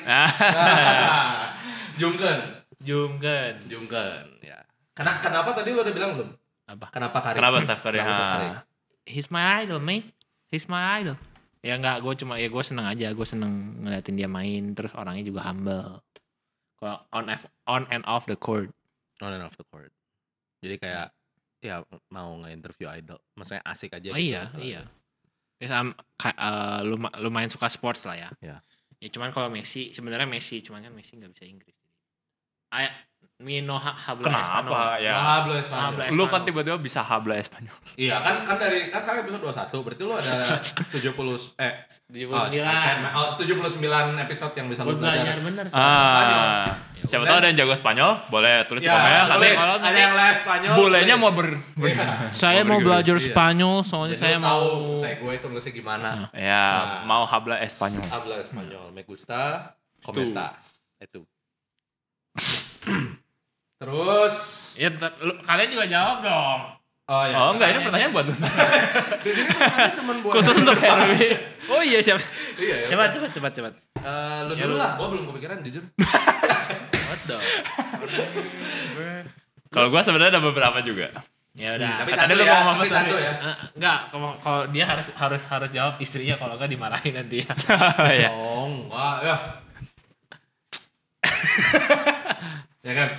Jum kan. jum kan. Jum kan. Ya. Kenapa kenapa tadi lo udah bilang belum? Apa? Kenapa Kari? Kenapa Steph Curry? Kenapa Steph Curry? Ah. He's my idol, man. He's my idol. Ya enggak, gue cuma ya gue seneng aja, gue seneng ngeliatin dia main, terus orangnya juga humble. Kalau on F- on and off the court. On and off the court. Jadi kayak ya mau nge-interview idol. Maksudnya asik aja. Oh gitu. iya, iya. Ya sam, ka, uh, luma- lumayan suka sports lah ya. Iya. Ya cuman kalau Messi, sebenarnya Messi, cuman kan Messi nggak bisa Inggris. I me no ha- habla Espanol. Kenapa ya? Hablo Espanyol. Habla Lu kan Espanol. tiba-tiba bisa habla Espanyol. Iya kan kan dari kan sekarang episode dua puluh satu berarti lu ada tujuh puluh eh tujuh puluh sembilan. oh, tujuh puluh sembilan episode yang bisa lu Buat belajar belajar. bener. Ah, Ya siapa udah. tahu ada yang jago Spanyol, boleh tulis di Ya, komen ya. tulis. Nanti kalau ada nanti- yang les Spanyol. bolehnya tulis. mau ber, ber- Iya. Saya mau bergerak. belajar Iya. Spanyol, soalnya Jadi saya lu mau. tahu saya gue itu nulisnya gimana. ya Nah. mau habla Espanyol. Habla Espanyol, me gusta, como Stu. está. Itu. Terus Ya, t- lu- kalian juga jawab dong. oh ya. Oh enggak, ini pertanyaan buat lu. Di sini pertanyaannya cuma buat Khusus untuk Herbie. Oh iya siapa? Iya, ya. Cepat, cepat, cepat, cepat. Eh, lu Ya, dulu lu. lah, gua belum kepikiran jujur. What the? Kalau gua sebenarnya ada beberapa juga. Ya udah. Tapi Tadi satu lu ya, ngomong apa tapi satu ya. Eh, enggak, kalau kalau dia harus harus harus jawab istrinya, kalau enggak dimarahin nanti ya. ya. Oh, wah, ya. Ya kan?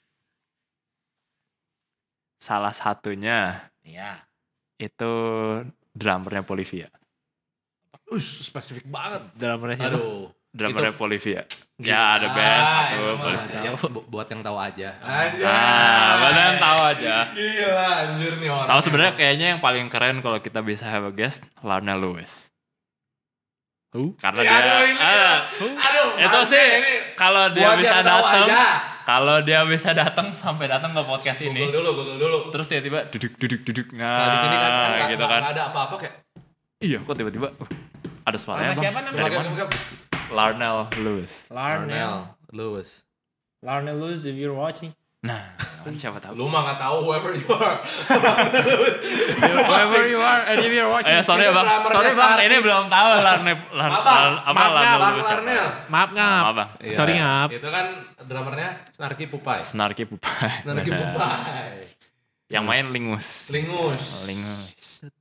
Salah satunya Iya. itu drummernya Polivia. Us, spesifik banget. Dalam siapa? Aduh. Drummernya Itu- Polivia. Gila. Ya ada band Ah, satu emang Polivia. ya, bu- buat yang tahu aja. Ah, buat yang tahu aja. Gila, anjir nih orang. Sama sebenarnya kayaknya yang paling keren kalau kita bisa have a guest, Lionel Lewis. Who? Karena Ya, dia, aduh, ini ah, Aduh, itu maaf sih nih, ini kalau dia buat bisa yang tahu datang, aja. kalau dia bisa datang sampai datang ke podcast ini, Google dulu, Google dulu. terus tiba-tiba duduk duduk duduk, nah, Nah, di sini kan, kan nggak- gitu nggak- kan, nggak ada apa-apa kayak. iya kok tiba-tiba uh, ada suaranya Nama bang, siapa namanya? dari Coba mana? coba, coba. Lionel Lewis. Larnell. Lewis. Larnell Lewis, if you're watching. Nah, kan siapa tahu. Lu mah nggak tahu whoever you are. Wherever you are, and if you're watching. Eh sorry Itu bang, drummernya sorry bang, Starkey. ini belum tahu Larnel, Larnel, Abang, apa maaf, Lionel Bang Lewis siapa? Larnel. Maaf ngap. Maaf bang, Iya. Sorry ngap. Itu kan drummernya Snarky Pupai. Snarky Pupai. Snarky Pupai. Yang main Lingus. Lingus. Lingus.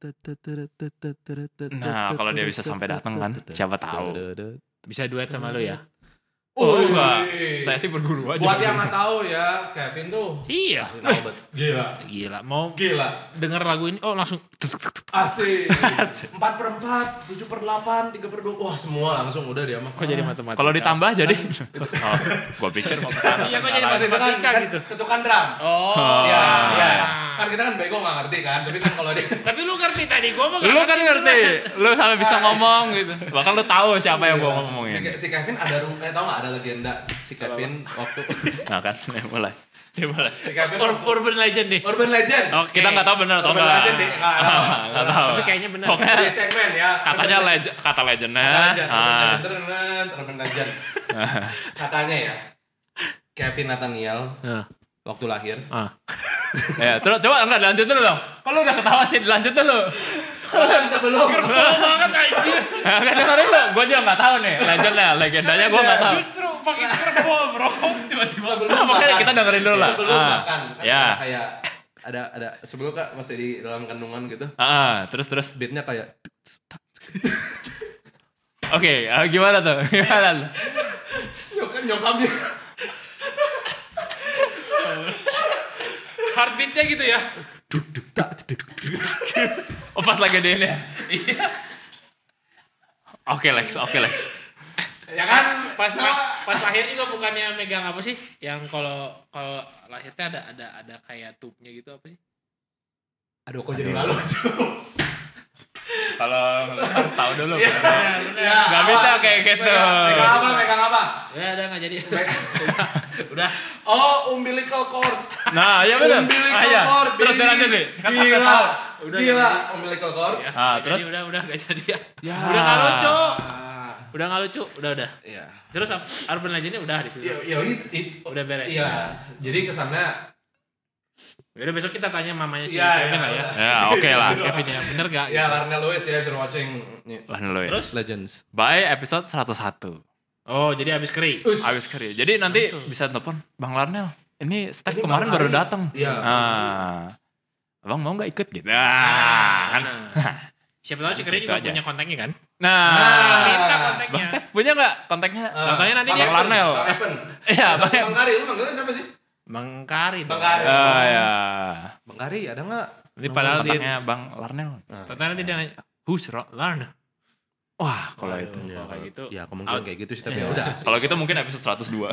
Nah, kalau dia bisa sampai datang kan, siapa tahu. Bisa duet sama lu ya? Oh, Wih. enggak. Saya sih berguru aja. Buat yang nggak tahu ya, Kevin tuh Iya. pasti tahu, Bet. Gila. Gila, mau Gila. denger lagu ini, oh langsung. Asik. Empat per empat, tujuh per delapan, tiga per dua. Wah semua langsung udah dia mah. Kok jadi matematika? Kalau ditambah jadi. Oh, gua pikir mau ke sana. Iya, kok jadi Itu kan, matematika kan gitu. ketukan drum. Oh, Iya, iya. Kan kita kan bego nggak ngerti kan, tapi kan kalau dia Tapi lu ngerti tadi, gua mah nggak Lu kan ngerti, lu sampai bisa ngomong gitu. Bahkan lu tahu siapa yang gua si, ngomongin. si Kevin ada ru- eh tau nggak ada legenda si Kevin waktu Nah kan, dia mulai. Dia mulai. si Kevin Ur- urban legend nih. Urban Legend. Oke. Kita nggak tahu benar atau Urban enggak. Legend deh, nggak tahu. Nggak tahu. Tapi kayaknya benar. Pokoknya Di segmen ya. katanya Urban legend, kata legendnya. Legend. Urban Ah. Legend, Urban- Urban Legend. Katanya ya, Kevin Nathaniel Nah. waktu lahir. Ah. Ya, terus coba enggak lanjut dulu dong. Kalau udah ketawa sih lanjut dulu. Sebelum banget anjir. Enggak dengerin lu. Gua juga enggak tahu nih legendnya, legendanya gua enggak tahu. Justru pakai curveball, Bro. Tiba-tiba. sebelum Nah, makanya makan. kita dengerin dulu lah. Sebelum Ah. makan. Kan Ya. kayak ada ada sebelum Kak masih di dalam kandungan gitu. Ah, terus terus. Beatnya kayak Oke, ah, gimana tuh? Gimana? nyokap nyokapnya Heartbeatnya gitu ya. Oh, pas lagi di ini ya? Oke, Lex. Oke, Lex. Ya kan pas pas lahir juga bukannya megang apa sih? Yang kalau kalau lahirnya ada ada ada kayak tubnya gitu apa sih? aduh kok jadi malu. Kalau harus tahu dulu. Iya, benar. Gak bisa kayak gitu. Megang apa? Megang apa? Ya udah nggak jadi. Udah. Oh, umbilical cord. Nah, iya benar. Umbilical Ah, iya. cord. Terus baby. dia lanjut nih. Kan Gila. udah tahu. Udah Gila. jadi. Umbilical cord. Ya, Ah, nggak terus? jadi, udah udah nggak jadi ya. Ya. Udah nggak lucu. Ah. Udah nggak lucu. Udah udah. Iya. Terus Urban Legend-nya udah di situ. Ya, ya it, it, Udah beres. Iya. Jadi kesannya Udah besok kita tanya mamanya si Iya, Kevin iya, lah ya. Ya, oke lah. Kevin ya, bener gak? ya Larnell Lewis ya, if you're watching nih, Lah dulu ya. Terus? Legends. By episode seratus satu. Oh, jadi abis keri. Habis kerja. Jadi nanti bisa telepon Bang Larnel. Ini Steph Ini kemarin Bang baru Ari. datang. Iya. Ah. Abang mau nggak ikut gitu? Nah, kan. Nah. Siapa tahu si Keri Gitu juga aja. punya kontaknya kan? Nah, Minta Bang kontaknya. Steph punya nggak kontaknya? Contohnya nanti Bang dia- Larnel. Bang Evan. Iya, Bang, Bang. Bang Kari, lu manggilnya siapa sih? Bang Kari. Bang dong. Kari. Oh ya. Bang Kari ada nggak? Nanti padahal dia, Kontaknya Bang Larnel. ternyata nanti dia nanya, who's Ro- Larna? Wah, kalau Waduh, itu. kalau kayak gitu. Ya kemungkinan Out. kayak gitu sih, tapi ya udah. Kalau gitu mungkin episode seratus dua.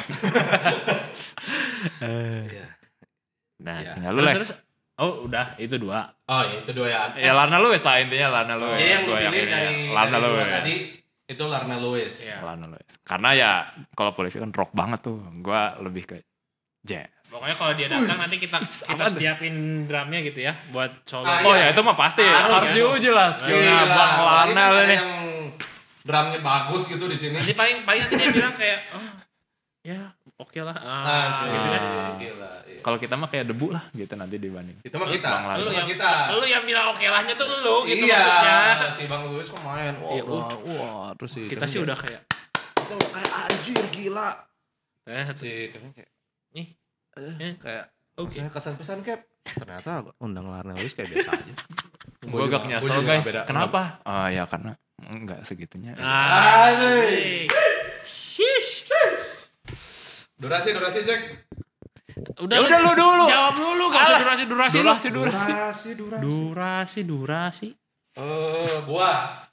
Iya. Nah, Iya. tinggal lu Terus, Lex. terus, oh udah, itu dua. Oh ya itu dua ya. Ya Larna Lewis lah intinya Larna Lewis. Jadi yang lu Gua pilih ini dari, ya. Larna dari dua Lewis. tadi itu Larnell Lewis. Iya. Larna Lewis. Karena ya kalau Polivi kan rock banget tuh. Gua lebih ke jazz. Pokoknya kalau dia datang nanti kita kita apa tuh? siapin drumnya gitu ya buat solo. Ah, Oh iya. ya itu mah pasti Harus, harus, ya. diuji lah skillnya Gila, Bang apalagi Larnel kan ada ini. yang drumnya bagus gitu di sini. Nanti paling paling nanti dia bilang kayak, oh ya oke lah. Ah, Nah, gitu kan. Ah. Gila. Iya. Kalau kita mah kayak debu lah gitu nanti dibanding. Itu mah kita. Bang Larnel. Lu Itu mah yang kita. Lu yang bilang oke lahnya tuh lu gitu iya, maksudnya. si Bang Lewis kok main. Wah, Iya, wah, wah, terus sih. Kita sih udah kayak, kita udah kayak anjir gila. eh, Si Kevin kayak nih, eh, kayak oke. maksudnya kesan-pesan Cap. Ternyata undang Larnell Lewis kayak biasa aja. Gue agak juga- nyesel gua juga guys. beda. Kenapa? Ah ya karena enggak segitunya. Ah, Asik. shish. Durasi, durasi cek. Udah, Ya udah lu dulu. Jawab dulu, gak usah Alah. durasi durasi lu. Durasi durasi. Durasi, durasi. Durasi, durasi. Eh, gua.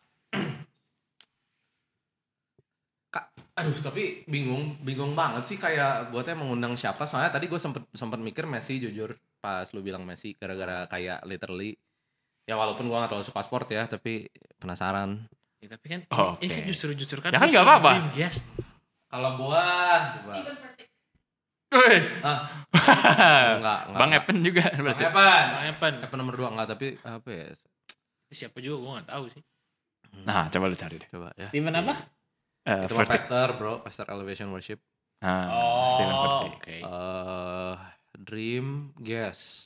Kak, aduh tapi bingung, bingung banget sih kayak gua teh mengundang siapa. Soalnya tadi gua sempet sempet mikir Messi jujur pas lu bilang Messi gara-gara kayak literally ya walaupun gua gak terlalu suka sport ya, tapi penasaran. Ya, tapi kan Oh, ini, ini oke. kan justru justru kan Ya kan bisa nggak apa-apa. dream guest. Kalau gua coba. Wih. Ah, enggak, enggak. Bang Epen juga Bang berarti. Evan. Bang Evan. Evan nomor dua enggak, tapi apa ya? Itu siapa juga gua enggak tahu sih. Nah, coba lu cari deh. Coba ya. Steven apa? Eh, Itu mah Vertic. Pastor, bro. Pastor Elevation Worship. Nah, Oh, Steven Vertic. oke. Eh, Dream Guess.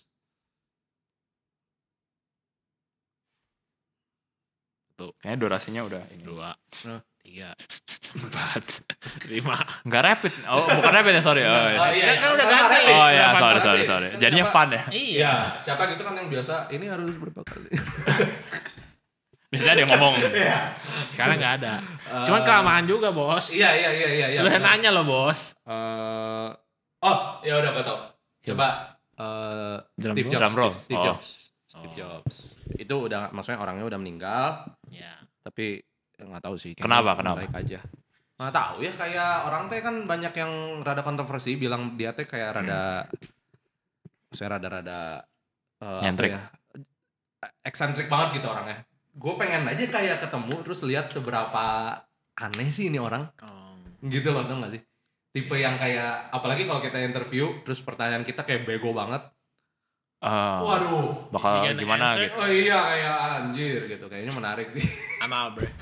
Kayaknya durasinya udah ini. Dua, Nah. tiga, empat, lima. Enggak rapid. Oh, bukan rapid ya, sorry. Oh, Oh, iya. iya, Kan- kan udah Kan ganti. rapid. Oh ya, Udah fun, sorry fun sorry rapid. sorry. Kan Jadinya siapa- fun ya. Iya. Iya, siapa gitu kan yang biasa ini harus berapa kali? Biasanya dia ngomong. Sekarang nggak ada. Cuman kelamaan juga, Bos. Iya, iya, iya, iya, iya. Lu yang benar. nanya lo, Bos. Eh, oh, ya udah gua tahu. Coba eh, Drum Steve roll? Jobs. Drum roll. Steve, Steve Oh. Jobs. Steve Oh. Jobs. Itu udah maksudnya orangnya udah meninggal, Ya. tapi nggak tahu sih. Kenapa, kayaknya kenapa? menarik aja. Nggak tahu ya, kayak orang teh kan banyak yang rada kontroversi bilang dia teh kayak rada, saya rada-rada uh, Nyentrik. apa ya, eksentrik banget gitu orangnya. Gue pengen aja kayak ketemu terus lihat seberapa aneh sih ini orang. Oh. Gitu loh, tau gak sih? Tipe yang kayak, apalagi kalau kita interview terus pertanyaan kita kayak bego banget. Uh, Waduh, bakal Is he gonna gimana answer? gitu. oh iya kayak anjir gitu. Kayaknya menarik sih. I'm out, bro.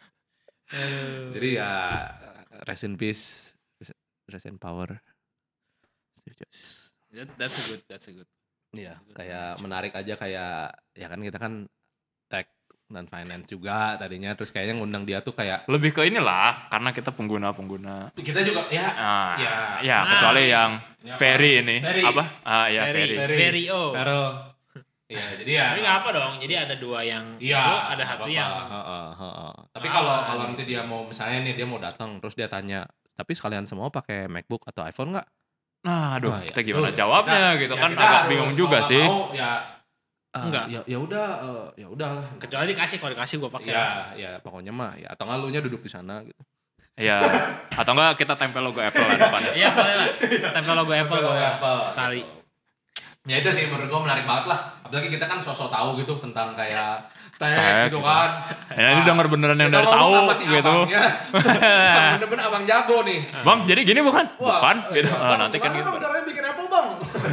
Jadi ya rest in peace, rest in power. Steve Jobs. That, that's a good, that's a good. Iya, kayak menarik aja kayak ya kan kita kan tech dan finance juga tadinya, terus kayaknya ngundang dia tuh kayak Lebih ke inilah karena kita pengguna-pengguna. kita juga ya Ah, ya, ya, Ah. kecuali yang Ini apa? Ferry ini. Ferry. Apa? Ah, ya Very, Ferry. very, oh. Pero iya jadi ya Tapi nggak apa dong. Jadi ada dua yang iya itu, ada nggak satu apa-apa. yang Heeh, heeh. Tapi Ah, kalau kalau gitu. nanti dia mau misalnya nih dia mau datang terus dia tanya, tapi sekalian semua pakai MacBook atau iPhone nggak? Nah, aduh, Wah, ya, kita gimana itu jawabnya kita- gitu ya kan kita agak harus bingung mau juga nggak sih. mau, ya eh, Enggak. ya ya udah eh, ya udahlah. kecuali dikasih, kalau dikasih gue pakai. Ya ya pokoknya mah ya atau nggak lu nya duduk di sana gitu. Ya, atau enggak kita tempel logo Apple lah depannya. Iya boleh lah. Tempel logo Apple Logo boleh Apple, sekali. gitu. Ya itu sih menurut gua menarik banget lah. Apalagi kita kan sosok tahu gitu tentang kayak tech Tech, gitu gitu. kan. Ya, ini denger beneran yang Kita dari ngomong tahu sama si gitu. abangnya. Bener-bener abang jago nih. Bang, jadi gini bukan? Wah, Bukan gitu. iya, Ah, Bang, nanti kan gimana gitu. Bang caranya bikin Apple bang?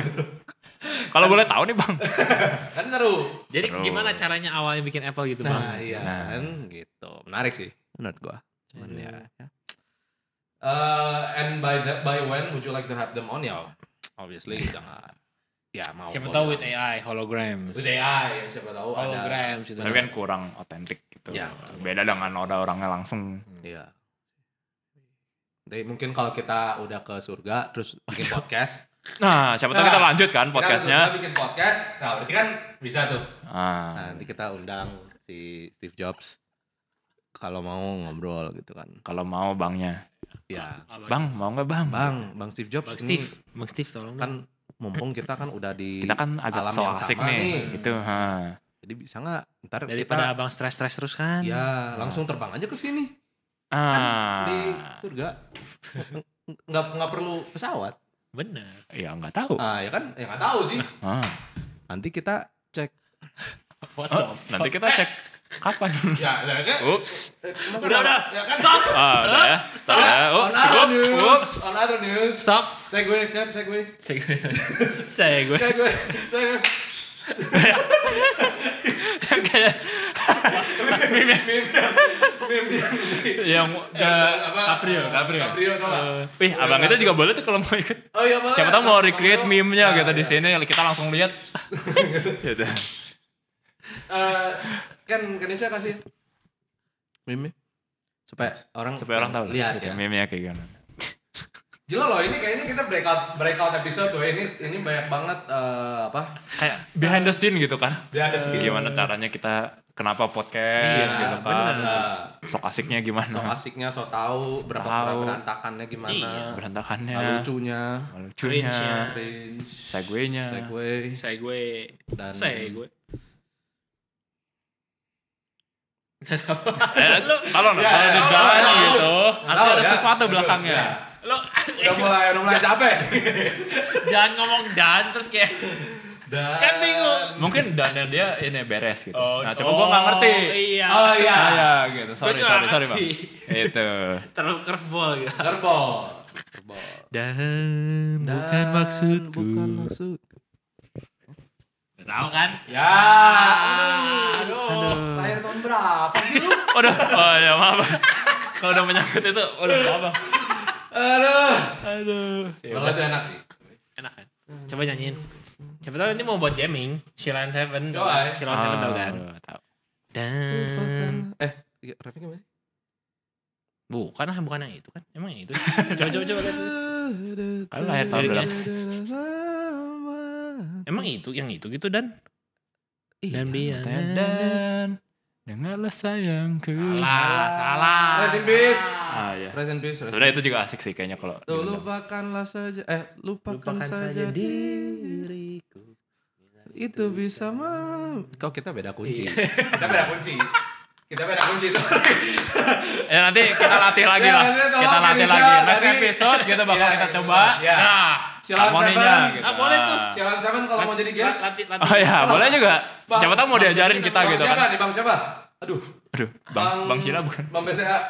Kalau boleh tahu nih, Bang. Kan seru. Jadi Seru. gimana caranya awalnya bikin Apple gitu bang? Nah iya Nah. kan gitu. Menarik sih menurut gua. Cuman Iya. ya. ya. Uh, and by the, by when would you like to have them on ya? Obviously jangan. Ya mau. Siapa boleh tahu lah. with A I, hologram. With A I ya siapa tahu ada. Hologram gitu. Tapi kan kurang otentik gitu. Ya. Beda dengan ada orangnya langsung. Iya. Jadi mungkin kalau kita udah ke surga terus bikin podcast. Nah, siapa tahu Nah, kita lanjut kan Kita podcastnya. ke surga bikin podcast. Nah berarti kan bisa tuh. Ah. Nah, nanti kita undang si Steve Jobs. Kalau mau ngobrol gitu kan. Kalau mau bangnya. Ya. Bang, mau nggak bang? Bang, Bang Steve Jobs Bang ini Steve, Bang Steve tolong. kan mumpung kita kan udah di Kita kan agak alam so yang asik sama nih. nih. Gitu. Ha. Jadi bisa nggak ntar daripada kita abang stres-stres terus kan. ya langsung terbang aja ke sini Ah. di surga. Nggak nggak perlu pesawat. Bener. Ya nggak tahu. Ah ya kan? Ya nggak tahu sih. Ah. Nanti kita cek. What Oh, nanti kita cek kapan. Ya, ya kan? Ups. Masa Udah, nggak- udah. Ya kan? Stop. Ah, udah ya. Stop. Udah ya. On Ups. other Ups. news. Ups. On other news. Stop. Segway, Cap, segway. Saya gue. Saya gue. Segway, segway. Kayak Meme, meme, meme. yang Eh, apa? Caprio, Caprio. Caprio, tau nggak? Eh, Wih, abang kita juga boleh tuh kalau mau ikut. Oh iya boleh. Siapa tahu mau recreate Bang, meme-nya Bang. gitu di Nah, sini kita langsung lihat. Gitu. Eh, kan Kanisha kasih meme supaya orang Supaya orang tahu lihat gitu, ya. meme-nya kayak gimana. Gila loh, ini kayaknya kita breakout breakout episode tuh. Ini ini banyak banget eh, apa? Kayak behind the scene gitu kan. Dia ada sih. Gimana caranya kita kenapa podcast Iya, gitu kan. bener. Terus sok asiknya gimana. So asiknya, so tahu berapa Tahu. berantakannya gimana. Iya, Berantakannya. Lucunya, Lucunya. Cringe-nya. cringe, Segway-nya. segway Saya gue. dan Saya gue. Eh, kalau Ya, kalau ya, di tahu, dalam tahu. gitu, Tahu harus ada ya. sesuatu Betul, belakangnya. ya. Lo Udah mulai udah mulai capek. jangan ngomong dan terus kayak Dan kan bingung. Mungkin dannya dia ini beres gitu. Oh, nah, cuma gua nggak ngerti. Iya. Oh iya. Ah, ya gitu. Sorry, Gua juga sorry, nggak sorry, Bang. ngerti. Itu. Terlalu curveball gitu. Kerbol. Kerbol. Dan, Dan Bukan maksud. Tahu kan? Ya. Aduh. Aduh. Lahir tahun berapa sih lu? Udah. Oh ya maaf. Kalau udah menyangkut itu, udah apa? Aduh. Aduh. Kalau itu enak sih. Enak kan? Coba nyanyiin. Siapa tahu nanti mau buat jamming. Shilan Seven. Yo, tau kan? ay. Shilan Seven tau kan? Ah, tahu. Dan Eh, iya, rapnya gimana sih? bukan lah, bukan yang itu kan? Emang yang itu? coba coba coba lihat. Kan lahir tahun Liriknya. berapa? Emang itu yang itu gitu dan dan biar Dan dengarlah sayangku. salah salah. Rest in peace. Ah ya. Rest in peace. rest in Sebenarnya itu juga asik sih kayaknya kalau Tuh, diundang. lupakanlah saja eh lupakan, Lupakan saja, saja diriku. itu bisa mah kok kita beda kunci. Iya. Kita beda kunci. Kita beda kunci. Ya nanti kita latih lagi Ya, lah. nanti tolong Kita latih Indonesia lagi. Next dari- episode kita bakal Ya, kita kita coba. coba. Ya. Nah, Silakan, harmoninya silakan. gitu. Ah, boleh tuh. Ah. Sialan Seven kalau mau jadi guest. Latih, latih. Oh ya, boleh juga. Bang, Siapa tahu mau Bang diajarin Sila- kita Bang gitu siapa kan. nih, Bang siapa? Aduh. Aduh, Bang Bang Sila bukan. Bang B C A.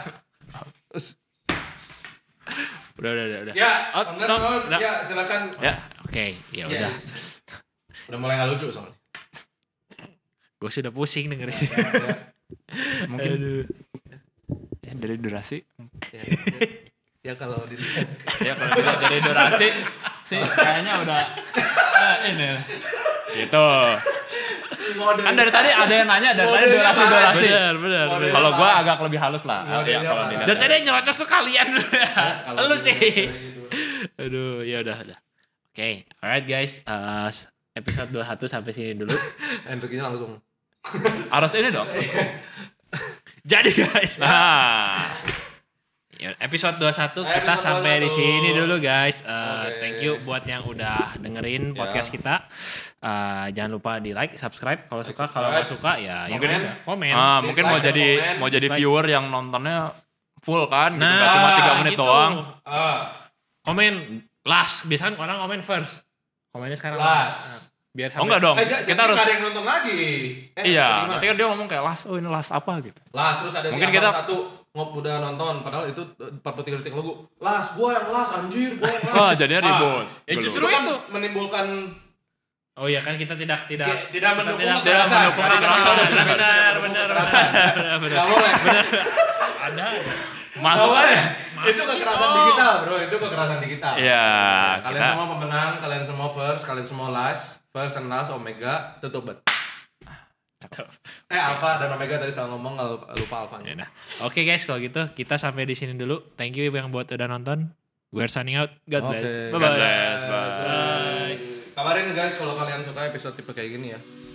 Udah, udah, udah. udah. Ya, Oh, Bang so- Nerdnode, udah. ya silakan. Ya, Oke, ya Ya, udah. ya. Udah mulai nggak lucu soalnya. Gue sudah pusing dengerin. mungkin ya, dari durasi. Ya, ya kalau dilihat. Ya kalau dilihat dari durasi sih kayaknya udah eh, ini gitu. Kan dari tadi ada yang nanya dari tadi Modelnya durasi parah. durasi. Bener, bener, Modelnya bener. Kalau gua parah. agak lebih halus lah. Modelnya Ya kalau parah. dilihat. Dan tadi yang nyerocos tuh kalian. Kalau Lu dilihat sih. dari itu. Aduh, ya udah, udah. Oke, alright guys. Uh, episode dua puluh satu sampai sini dulu. Energinya langsung. Harus ini dong. Jadi guys, Nah, ya, episode dua puluh satu Episode kita sampai di dua puluh satu. sini dulu guys. Uh, Oke. Thank you buat yang udah dengerin Ya. podcast kita. Uh, jangan lupa di like, subscribe kalau Like, suka. Kalau subscribe. nggak suka ya, ya Mungkin- udah, komen. ah, mungkin mau Dislike, jadi komen, mau jadi dislike. viewer yang nontonnya full kan, gitu. Nah, Nggak cuma tiga menit gitu. doang. Ah, Komen last. Biasanya orang komen first. Komennya sekarang last. Biar Oh enggak dong, Eh, j- kita jadi harus nggak ada yang nonton lagi. Eh, iya. gimana? Nanti kan dia ngomong kayak las, oh ini las apa gitu. Las terus ada Mungkin si kita- abang satu ngop udah nonton padahal itu empat puluh tiga detik lagu. Las, gua yang las anjir, gua yang las. Oh jadinya ribut. Ya Dulu. justru Itu kan itu. menimbulkan Oh iya kan kita tidak tidak Tidak- tidak mendukung tidak kekerasan. mendukung Tidak kekerasan. mendukung Benar benar kekerasan. benar Kekerasan. benar benar. nggak boleh. Ada. Masuk Nggak aja. boleh. Itu kekerasan digital, bro. Itu kekerasan digital. Iya, Kalian kita semua pemenang, kalian semua first, kalian semua last, first and last, omega, tutup bet. Eh alpha dan omega tadi salah ngomong nggak lupa, lupa alpha. Ya udah. Oke guys kalau gitu kita sampai di sini dulu. Thank you yang buat udah nonton. We're signing out. God bless. Oke. Bye God bye. bless, bye. Kabarin guys kalau kalian suka episode tipe kayak gini ya.